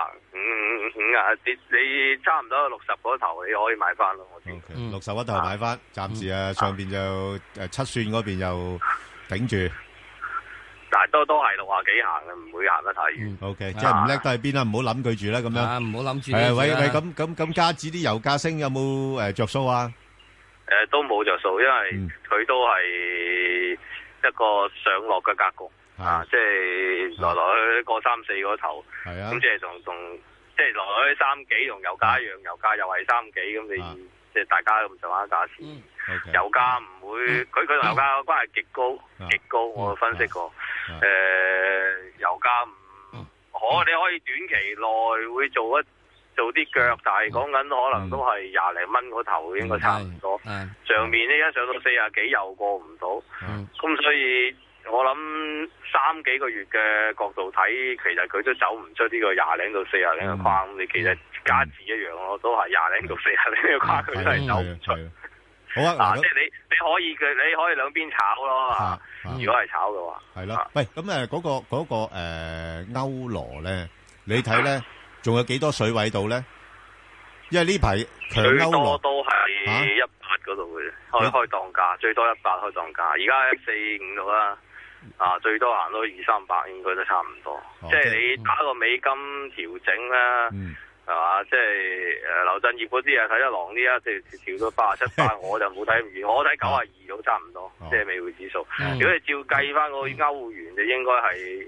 你差唔多60嗰頭你可以買翻咯。 60嗰頭買翻，暫時上邊就7算嗰邊又頂住。 但係都係60幾行嘅，唔會行得太遠。 OK， 即係唔叻都係邊啦，唔好諗佢住啦，咁樣。 唔好諗住。 係喂，咁加指啲油價升有冇着數啊？ 都冇着數，因為佢都係一個上落嘅格局。即係來來去去過3-4嗰頭，咁即係同即係來來去3幾同油價一樣，油價又係3幾，咁你即係大家咁上下價錢，油價唔會，佢同油價嘅關係極高，我分析過，油價可你可以短期內會做啲腳，但係講緊可能都係20零蚊嗰頭應該差唔多。上面呢一上到40幾又過唔到，咁所以我諗3幾個月嘅角度睇，其實佢都走唔出呢個20零到40零嘅框。你其實加字一樣咯，都係20零到40零嘅框，佢都係走唔出。 好啊， 即係你可以兩邊炒咯，如果係炒嘅話， 係咯。喂，咁嗰個歐羅咧，你睇咧仲有幾多水位度咧？因為呢排強歐羅最多都係18嗰度嘅，開檔價最多18開檔價，而家145度啦，最多行到200-300應該都差唔多。即係你打個美金調整啦。係嘛？即係劉振業嗰啲睇得狼啲啊，即係調到87，我就冇睇咁遠，我睇92都差唔多，即係美匯指數。如果你照計翻個歐元，就應該係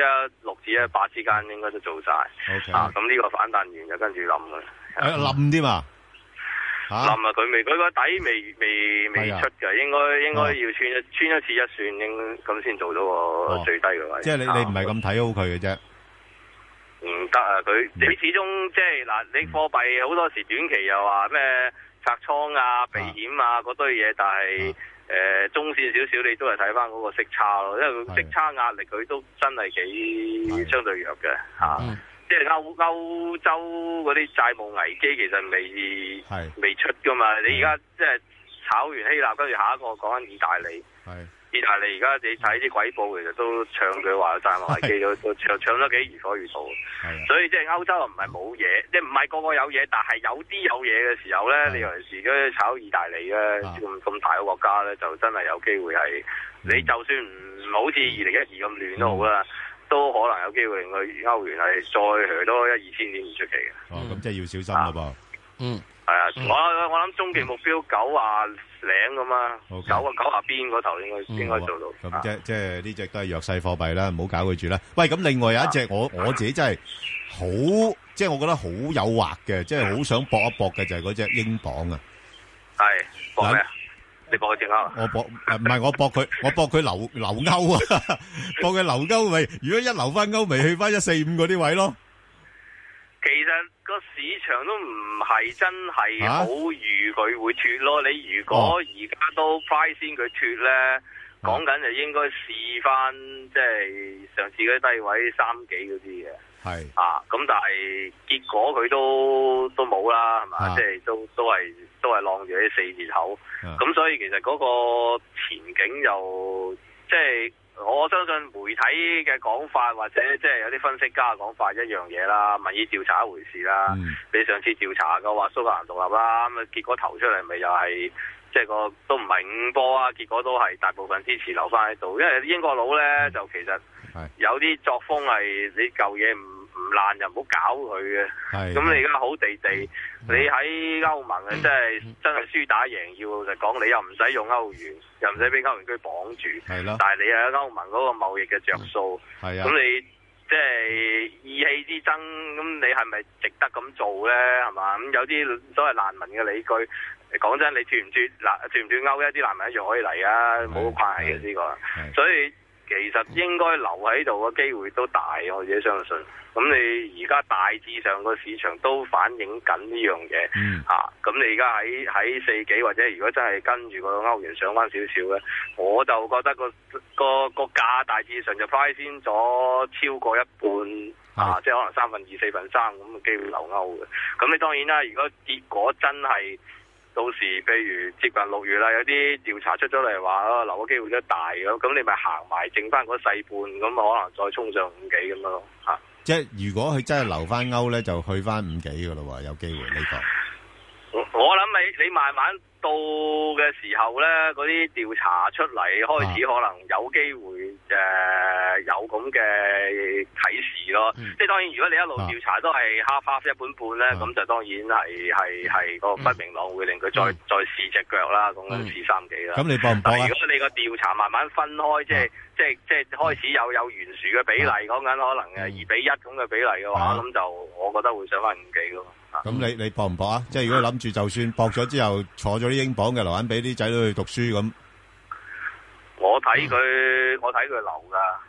16至18之間，應該都做晒。咁呢個反彈完就跟住冧嘅。 冧添嘛？ 冧啊！佢個底未出嘅，應該要穿一次一算，咁先做到個最低嘅位。 即係你唔係咁睇好佢嘅啫。 唔得啊！你始終即係嗱，你貨幣好多時短期又話咩拆倉啊、避險啊嗰堆嘢，但係中線少少你都係睇翻嗰個息差咯，因為佢息差壓力佢都真係幾相對弱嘅嚇。即係歐洲嗰啲債務危機其實未出噶嘛，你而家即係炒完希臘，跟住下一個講緊意大利。意大利而家你睇啲鬼報，其實都唱佢話債務危機都唱得幾如火如荼。所以即係歐洲唔係冇嘢，即係唔係個個有嘢，但係有啲有嘢嘅時候咧，你尤其是而家炒意大利咧咁大個國家咧，就真係有機會係你就算唔好似2012咁亂都好啦，都可能有機會令佢歐元係再去多1-2千點唔出奇嘅。 咁即係要小心咯噃。 係啊，我諗終極目標90零咁啊，90邊嗰頭應該做到。 咁即係呢隻都係弱勢貨幣啦，唔好搞佢住啦。喂，咁另外有一隻我自己真係好，即係我覺得好誘惑嘅，即係好想搏一搏嘅就係嗰隻英鎊啊。 係搏咩啊？你搏佢隻歐？ 我搏唔係我搏佢留歐啊，搏佢留歐咪？如果一留翻歐，咪去翻145嗰啲位咯。 其實個市場都唔係真係好預佢會脫咯。你如果而家都 price 先佢脫咧，講緊就應該試翻即係上次嗰啲低位3幾嗰啲嘅。咁但係結果佢都冇啦，係嘛？即係都係晾住啲4字頭。咁所以其實嗰個前景又即係。我相信媒體嘅講法或者即係有啲分析家嘅講法一樣嘢啦，民意調查一回事啦。你上次調查嘅話蘇格蘭獨立啦，咁啊結果投出嚟咪又係即係個都唔係5波啊，結果都係大部分支持留翻喺度，因為英國佬咧就其實有啲作風係你舊嘢唔爛就唔好搞佢嘅。咁你而家好地地，你喺歐盟啊，真係輸打贏要老實講，你又唔使用歐元，又唔使俾歐元區綁住，但係你喺歐盟嗰個貿易嘅着數，咁你即係意氣之爭，咁你係咪值得咁做咧？係嘛？咁有啲所謂難民嘅理據，講真，你脫唔脫歐，一啲難民一樣可以嚟啊，冇關係嘅呢個，所以其實應該留喺度嘅機會都大，我自己相信。咁你而家大致上個市場都反映緊呢樣嘢，咁你而家喺4幾或者如果真係跟住個歐元上翻少少咧，我就覺得個價大致上就 price 先咗超過一半，即係可能2/3、4/3咁嘅機會留歐嘅。咁你當然啦，如果結果真係到時譬如接近6月啦，有啲調查出咗嚟話留嘅機會都大咁你咪行埋剩翻嗰細半，咁可能再衝上5幾咁咯嚇。 即係如果佢真係留翻歐咧，就去翻5幾噶咯喎，有機會呢個。 我諗你慢慢到嘅時候咧，嗰啲調查出嚟開始可能有機會有咁嘅啟示咯。即係當然，如果你一路調查都係half 一半半咧，咁就當然係個不明朗會令佢再試隻腳啦，講緊試3幾啦。 咁你搏唔搏啊？ 如果你個調查慢慢分開，即係開始有懸殊嘅比例，講緊可能2:1咁嘅比例嘅話，咁就我覺得會上翻5幾咯。 咁你搏唔搏啊？即係如果諗住就算搏咗之後坐咗啲英鎊嘅留翻俾啲仔女去讀書咁， 我睇佢留噶，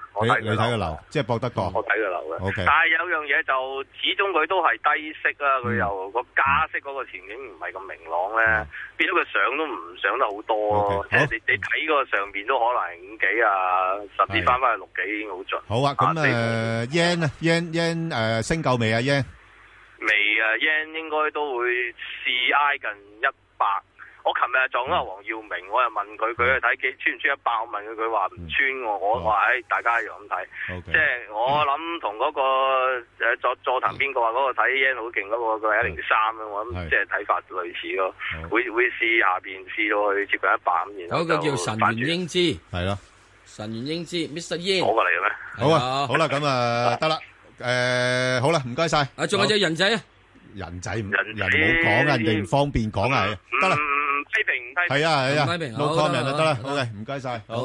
我睇你睇個樓，即係博得過。 我睇個樓嘅。 OK。 但係有樣嘢就始終佢都係低息啊，佢又個加息嗰個前景唔係咁明朗咧，變咗佢上都唔上得好多咯。即係你睇個上邊都可能係5幾啊，甚至翻去6幾已經好盡。 好啊，咁yen 啊 yen 升夠未啊 yen？ 未啊 yen 應該都會試挨近100。我琴日撞到黃耀明，我又問佢，佢去睇穿唔穿100？我問佢，佢話唔穿我話大家一樣咁睇。即係我諗同嗰個座談邊個話嗰個睇 yen 好勁嗰個，佢係103咯。我諗即係睇法類似咯，會試下邊試到去接近100咁。然後有個叫神元英之， 係咯， 神元英之 Mr. Yen 攞過嚟嘅咩？ 好啊，好啦，咁得啦。好啦，唔該晒。 仲有隻人仔啊， 人仔唔好講，人哋唔方便講啊，得啦。 批評唔批評， 係啊， 唔批評 no comment就得啦。OK，唔該晒。好，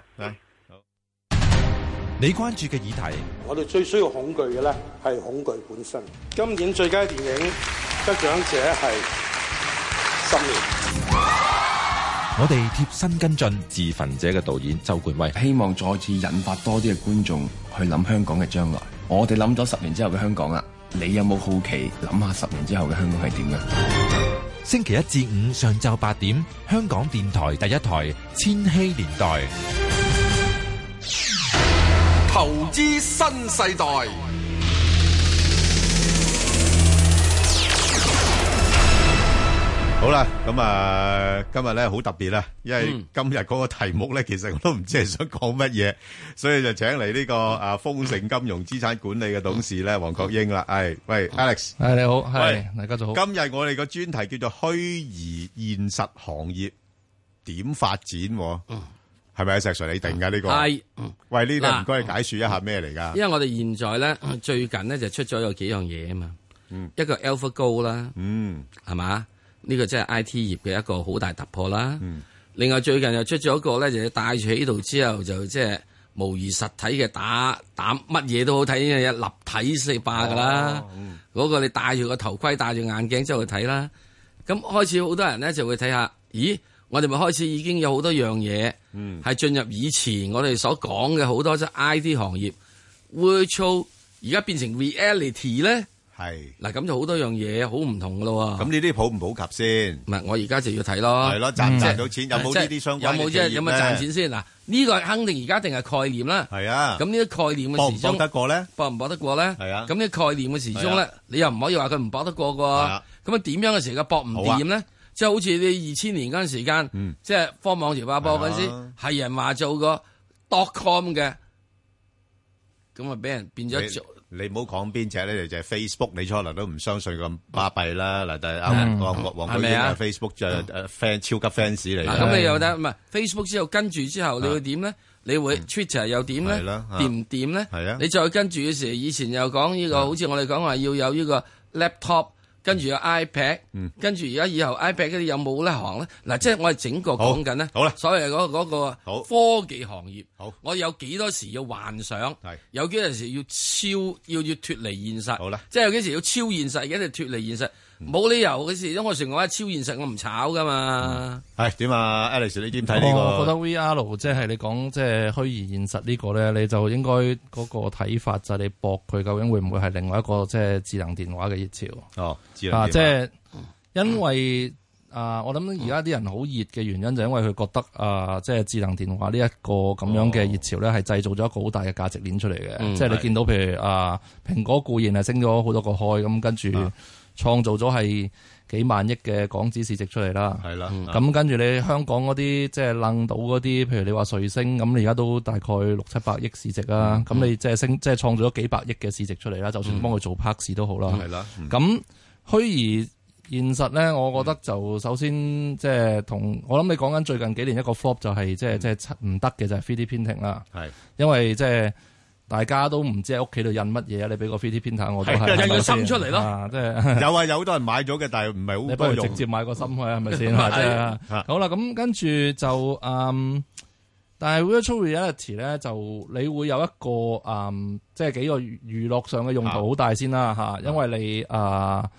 你關注嘅議題， 我哋最需要恐懼嘅咧係恐懼本身。今年最佳電影得獎者係《10年》。 我哋貼身跟進《自焚者》嘅導演周冠威， 希望再次引發多啲嘅觀眾去諗香港嘅將來。我哋諗咗10年之後嘅香港啦，你有冇好奇諗下10年之後嘅香港係點嘅？ 星期1至5上晝8點，香港電台第一台《千禧年代》。 投資新世代。 好啦，咁今日咧好特別啦，因為今日嗰個題目咧，其實我都唔知係想講乜嘢，所以就請嚟呢個豐盛金融資產管理嘅董事咧，黃國英啦。喂 Alex， 你好，大家好。今日我哋個專題叫做虛擬現實行業點發展，係咪石 Sir 你定噶呢個？ 係， 喂，呢個唔該你解說一下咩嚟噶？ 因為我哋現在咧最近咧就出咗有幾樣嘢啊嘛，一個 AlphaGo 啦，係嘛？呢個即係 I T 業嘅一個好大突破啦。另外最近又出咗一個咧，就帶住喺度之後就即係模擬實體嘅打乜嘢都好睇嘅立體四霸噶啦。嗰個你戴住個頭盔、戴住眼鏡之後去睇啦。咁開始好多人咧就會睇下，咦？我哋咪開始已經有好多樣嘢係進入以前我哋所講嘅好多即係 I T 行業 virtual， 而家變成 reality 咧。係嗱，咁就好多樣嘢好唔同噶咯。咁呢啲普唔普及先？ 唔係，我而家就要睇咯。 係咯，賺唔賺到錢？有冇呢啲相關嘅企業咧？ 有冇賺錢先？嗱，呢個肯定而家定係概念啦。係啊。咁呢啲概念嘅時鐘搏唔搏得過咧？ 搏唔搏得過咧？係啊。咁呢概念嘅時鐘咧，你又唔可以話佢唔搏得過噶。咁啊，點樣嘅時間搏唔掂咧？即係好似你2000年嗰陣時間，即係科網潮爆波嗰陣時，係人話做個 .com 嘅，咁啊俾人變咗做。 你唔好講邊隻咧，就係 Facebook。你初頭都唔相信咁巴閉啦。嗱，但係黃國英啊 ，Facebook 就fan 超級 fans 嚟。 咁你又得唔係 Facebook 之後跟住之後，你會點咧？你會 Twitter 又點咧？掂唔掂咧？係啊。你再跟住嘅時候，以前又講呢個，好似我哋講話要有呢個 laptop。跟住有 iPad，跟住而家以後 iPad 嗰啲有冇呢行咧？嗱，即係我哋整個講緊咧，好啦，所謂嗰個科技行業，我有幾多時要幻想，有幾多時要要脫離現實，好啦，即係有幾時要超現實，而家就脫離現實，冇理由嘅事，因為我成日話超現實，我唔炒噶嘛。 係點啊 ，Alex， 你點睇呢個？ 我覺得 VR 即係你講即係虛擬現實呢個咧，你就應該嗰個睇法就係你搏佢究竟會唔會係另外一個即係智能電話嘅熱潮？哦。即係因為我諗而家啲人好熱嘅原因就因為佢覺得即係智能電話呢一個咁樣嘅熱潮咧，係製造咗一個好大嘅價值鏈出嚟嘅。即係你見到譬如蘋果固然係升咗好多個開，咁跟住創造咗係幾萬億嘅港紙市值出嚟啦。係啦，咁跟住你香港嗰啲即係楞到嗰啲，譬如你話瑞星咁，你而家都大概600-700億市值啦。咁你即係即係創造咗幾百億嘅市值出嚟啦。就算幫佢做拍市都好啦。係啦，咁。虛擬現實咧，我覺得就首先即係同我諗你講緊最近幾年一個 flop 就係即係唔得嘅就係 3D printing 啦。係，因為即係大家都唔知喺屋企度印乜嘢啊！你俾個 3D printer 我都係印個心出嚟咯。即係有好多人買咗嘅，但係唔係好多用。你不如直接買個心去係咪先？係好啦，咁跟住就但係 virtual reality 咧，就你會有一個即係幾個娛樂上嘅用途好大先啦嚇，因為你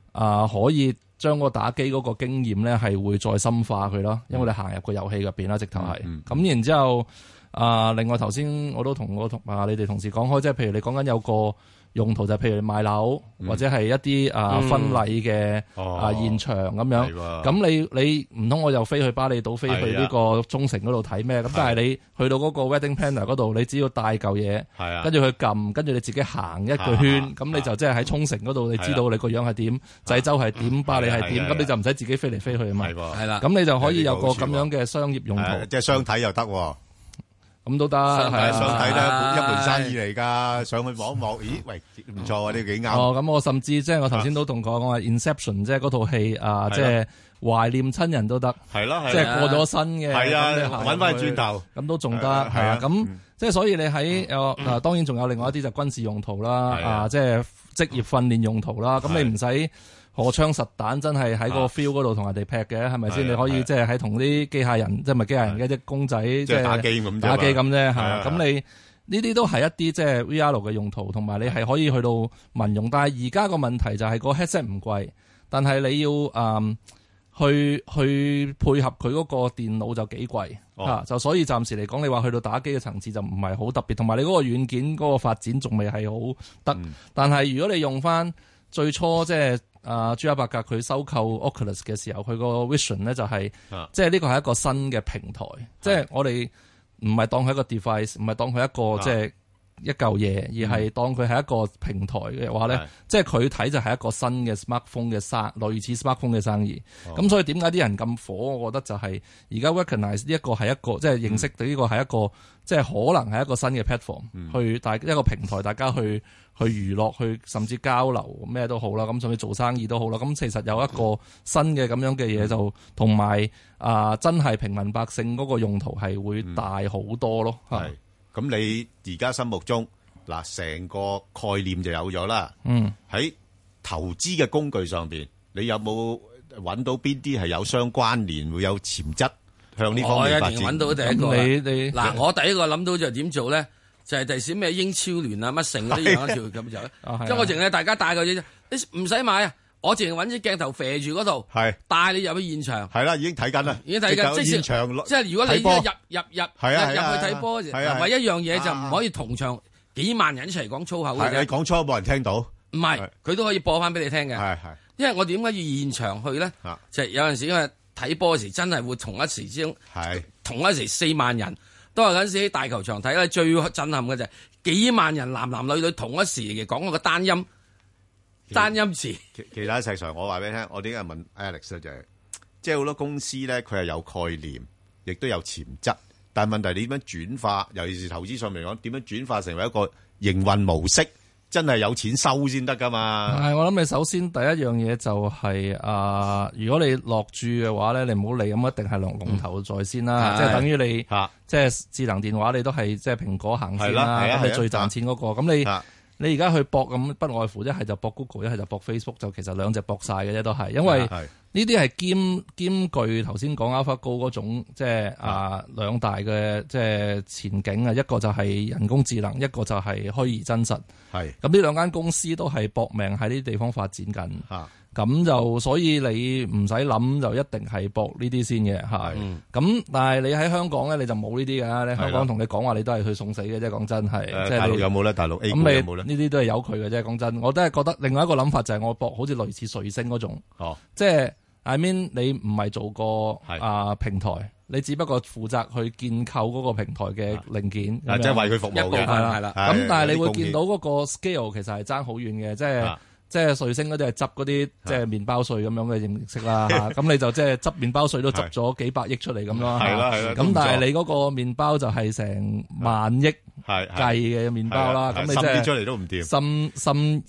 可以將個打機嗰個經驗咧係會再深化佢咯，因為你行入個遊戲入邊啦，直頭係。咁然之後另外頭先我都同你哋同事講開，即係譬如你講緊有個用途就係譬如賣樓或者係一啲婚禮嘅現場咁樣，咁你唔通我又飛去巴厘島飛去呢個沖繩嗰度睇咩？咁但係你去到嗰個 wedding planner 嗰度，你只要帶嚿嘢，跟住佢撳，跟住你自己行一個圈，咁你就即係喺沖繩嗰度，你知道你個樣係點，濟州係點，巴厘係點，咁你就唔使自己飛嚟飛去啊嘛。係啦，咁你就可以有個咁樣嘅商業用途， 即係相睇又得。 咁都得， 相睇咧一門生意嚟㗎，上去望一望，咦，喂，唔錯啊，呢幾啱。 咁我甚至即係我頭先都同講，我話 Inception 即係嗰套戲即係懷念親人都得，係咯，即係過咗身嘅， 係啊，揾翻轉頭， 咁都仲得，係啊，咁即係所以你喺當然仲有另外一啲就軍事用途啦，即係職業訓練用途啦，咁你唔使荷槍實彈真係喺個 field 嗰度同人哋劈嘅，係咪先？你可以即係喺同啲機械人，即係唔係機械人嘅啲公仔，即係打機咁啫。係咁你呢啲都係一啲即係 VR 嘅用途，同埋你係可以去到民用。但係而家個問題就係個 headset 唔貴，但係你要去配合佢嗰個電腦就幾貴就所以暫時嚟講，你話去到打機嘅層次就唔係好特別，同埋你嗰個軟件嗰個發展仲未係好得。但係如果你用翻最初即係朱克伯格佢收購 Oculus 嘅時候，佢個 vision 咧就係即係呢個係一個新嘅平台，即係我哋唔係當佢一個 device， 唔係當佢一個即係一嚿嘢，而係當佢係一個平台嘅話咧，即係佢睇就係一個新嘅 smartphone 嘅類似 smartphone 嘅生意。咁所以點解啲人咁火？我覺得就係而家 recognize 呢一個係一個即係認識到呢個係一個即係可能係一個新嘅 platform，去一個平台，大家去娛樂，去甚至交流咩都好啦，咁甚至做生意都好啦。咁其實有一個新嘅咁樣嘅嘢，就同埋真係平民百姓嗰個用途係會大好多咯。 係咁，你而家心目中嗱成個概念就有咗啦。喺投資嘅工具上邊，你有冇揾到邊啲係有相關聯，會有潛質向呢方面發展？我一定揾到第一個。嗱，我第一個諗到就點做咧？就係第時咩英超聯啊乜成嗰啲樣一條咁就，即係我淨係大家帶個嘢啫，你唔使買啊！我淨係揾支鏡頭射住嗰度，帶你入去現場。係啦，已經睇緊啦，已經睇緊。即係如果你一入去睇波，唯一樣嘢就唔可以同場幾萬人一齊講粗口嘅啫。你講粗口冇人聽到。唔係，佢都可以播翻俾你聽嘅。因為我點解要現場去咧？就係有陣時因為睇波嗰時真係會同一時之中，同一時4萬人。都係嗰陣時喺大球場睇咧，最震撼嘅就係幾萬人男男女女同一時嘅講嗰個單音詞。 其他石 Sir，我話俾你聽，我點解問 Alex 咧就係，即係好多公司咧，佢係有概念，亦都有潛質，但係問題你點樣轉化，尤其是投資上面嚟講，點樣轉化成為一個營運模式？真係有錢收先得噶嘛？ 係，我諗你首先第一樣嘢就係如果你落注嘅話咧，你唔好理咁，一定係龍頭在先啦。即係等於你即係智能電話，你都係即係蘋果行先啦，咁你最賺錢嗰個。咁你而家去搏咁，不外乎一係就搏 Google，一係就搏 Facebook， 就其實兩隻搏晒嘅啫，都係因為呢啲係兼具頭先講 AlphaGo 嗰種即係兩大嘅即係前景啊，一個就係人工智能，一個就係虛擬真實。係咁呢兩間公司都係搏命喺呢啲地方發展緊。咁就所以你唔使諗就一定係搏呢啲先嘅。係咁，但係你喺香港咧，你就冇呢啲㗎。你香港同你講話，你都係去送死嘅啫。講真係，即係大陸有冇咧？大陸 A 股有冇咧？ 呢啲都係有佢嘅啫。講真，我都係覺得另外一個諗法就係我搏好似類似瑞星嗰種。即係 I mean 你唔係做過平台，你只不過負責去建構嗰個平台嘅零件， 即係為佢服務嘅。 係啦。咁但係你會見到嗰個 scale 其實係爭好遠嘅，即係瑞星嗰啲係執嗰啲即係麵包碎咁樣嘅形式啦。咁你就即係執麵包碎都執咗幾百億出嚟咁咯。係啦。咁但係你嗰個麵包就係成萬億計嘅麵包啦。咁你即係出嚟都唔掂，滲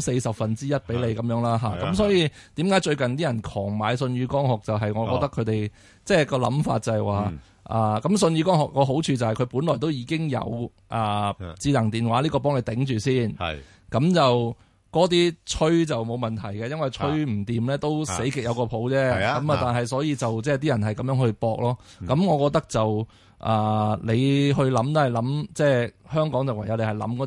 30%俾你咁樣啦。咁所以點解最近啲人狂買舜宇光學就係我覺得佢哋即係個諗法就係話咁舜宇光學個好處就係佢本來都已經有智能電話呢個幫你頂住先。咁就嗰啲吹就冇問題嘅，因為吹唔掂咧都死極有個譜啫。咁但係所以就即係啲人係咁樣去搏咯。咁我覺得就你去諗都係諗，即係香港就唯有你係諗嗰啲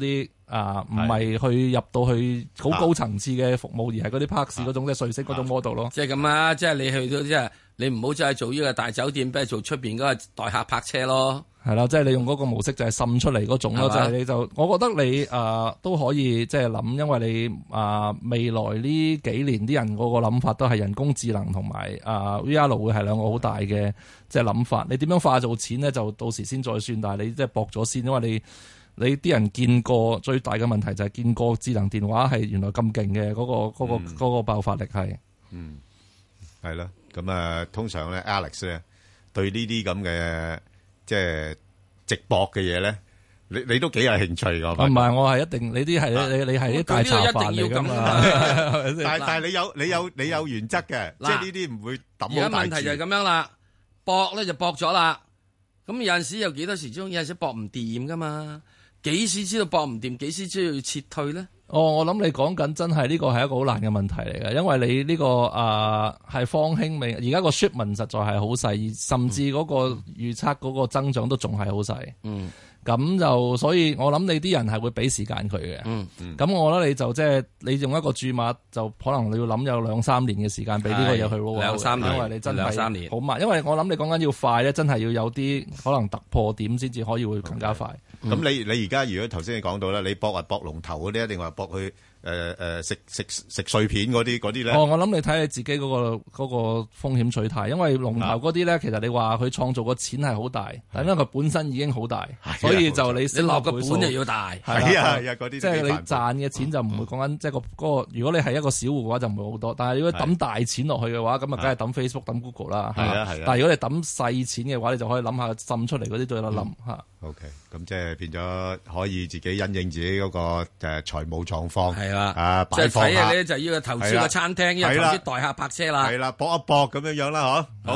唔係去入到去好高層次嘅服務，而係嗰啲 park 嗰種即係瑞星嗰種 model 咯。 即係咁啊！即係你去到即係你唔好再做呢個大酒店，不如做出邊嗰個代客泊車咯。 係啦，即係你用嗰個模式就係滲出嚟嗰種咯，就係你就我覺得你都可以即係諗，因為你未來呢幾年啲人嗰個諗法都係人工智能同埋VR 會係兩個好大嘅即係諗法。你點樣化做錢咧，就到時先再算。但係你即係搏咗先，因為你啲人見過最大嘅問題就係見過智能電話係原來咁勁嘅嗰個爆發力係。 係啦，咁通常咧 Alex 咧對呢啲咁嘅即係直播嘅嘢咧，你都幾有興趣噶？ 唔係，我係一定，你啲係你係啲大茶飯嚟噶嘛？ 但係你有原則嘅，即係呢啲唔會抌好大字。 而家問題就係咁樣啦，搏咧就搏咗啦。咁有陣時有幾多時鐘，有陣時搏唔掂噶嘛？幾時知道搏唔掂？幾時知道要撤退咧？ 我諗你講緊真係呢個係一個好難嘅問題嚟嘅，因為你呢個係方興未，而家個 shipment 實在係好細，甚至嗰個預測嗰個增長都仲係好細。咁就所以我諗你啲人係會俾時間佢嘅。咁我覺得你就即係你用一個注碼，就可能你要諗有2-3年嘅時間俾呢個嘢去 roll。2-3年，因為你真係2-3年好慢。因為我諗你講緊要快咧，真係要有啲可能突破點先至可以會更加快。 咁你而家如果頭先你講到啦，你搏龍頭嗰啲，定話搏去食碎片嗰啲咧？我諗你睇你自己嗰個風險取態，因為龍頭嗰啲咧，其實你話佢創造個錢係好大，但因為佢本身已經好大，所以就你落個本就要大。 係啊，嗰啲即係你賺嘅錢就唔會講緊即係嗰個。如果你係一個小戶嘅話，就唔會好多。但係如果抌大錢落去嘅話，咁啊，梗係抌 Facebook、抌 Google 啦。係啊。但係如果你抌細錢嘅話，你就可以諗下滲出嚟嗰啲都有得諗嚇。 OK，咁即係變咗可以自己因應自己嗰個財務狀況。係啦， 即係睇下咧就要投資個餐廳，要投資代客泊車啦。 係啦，搏一搏咁樣啦，嗬。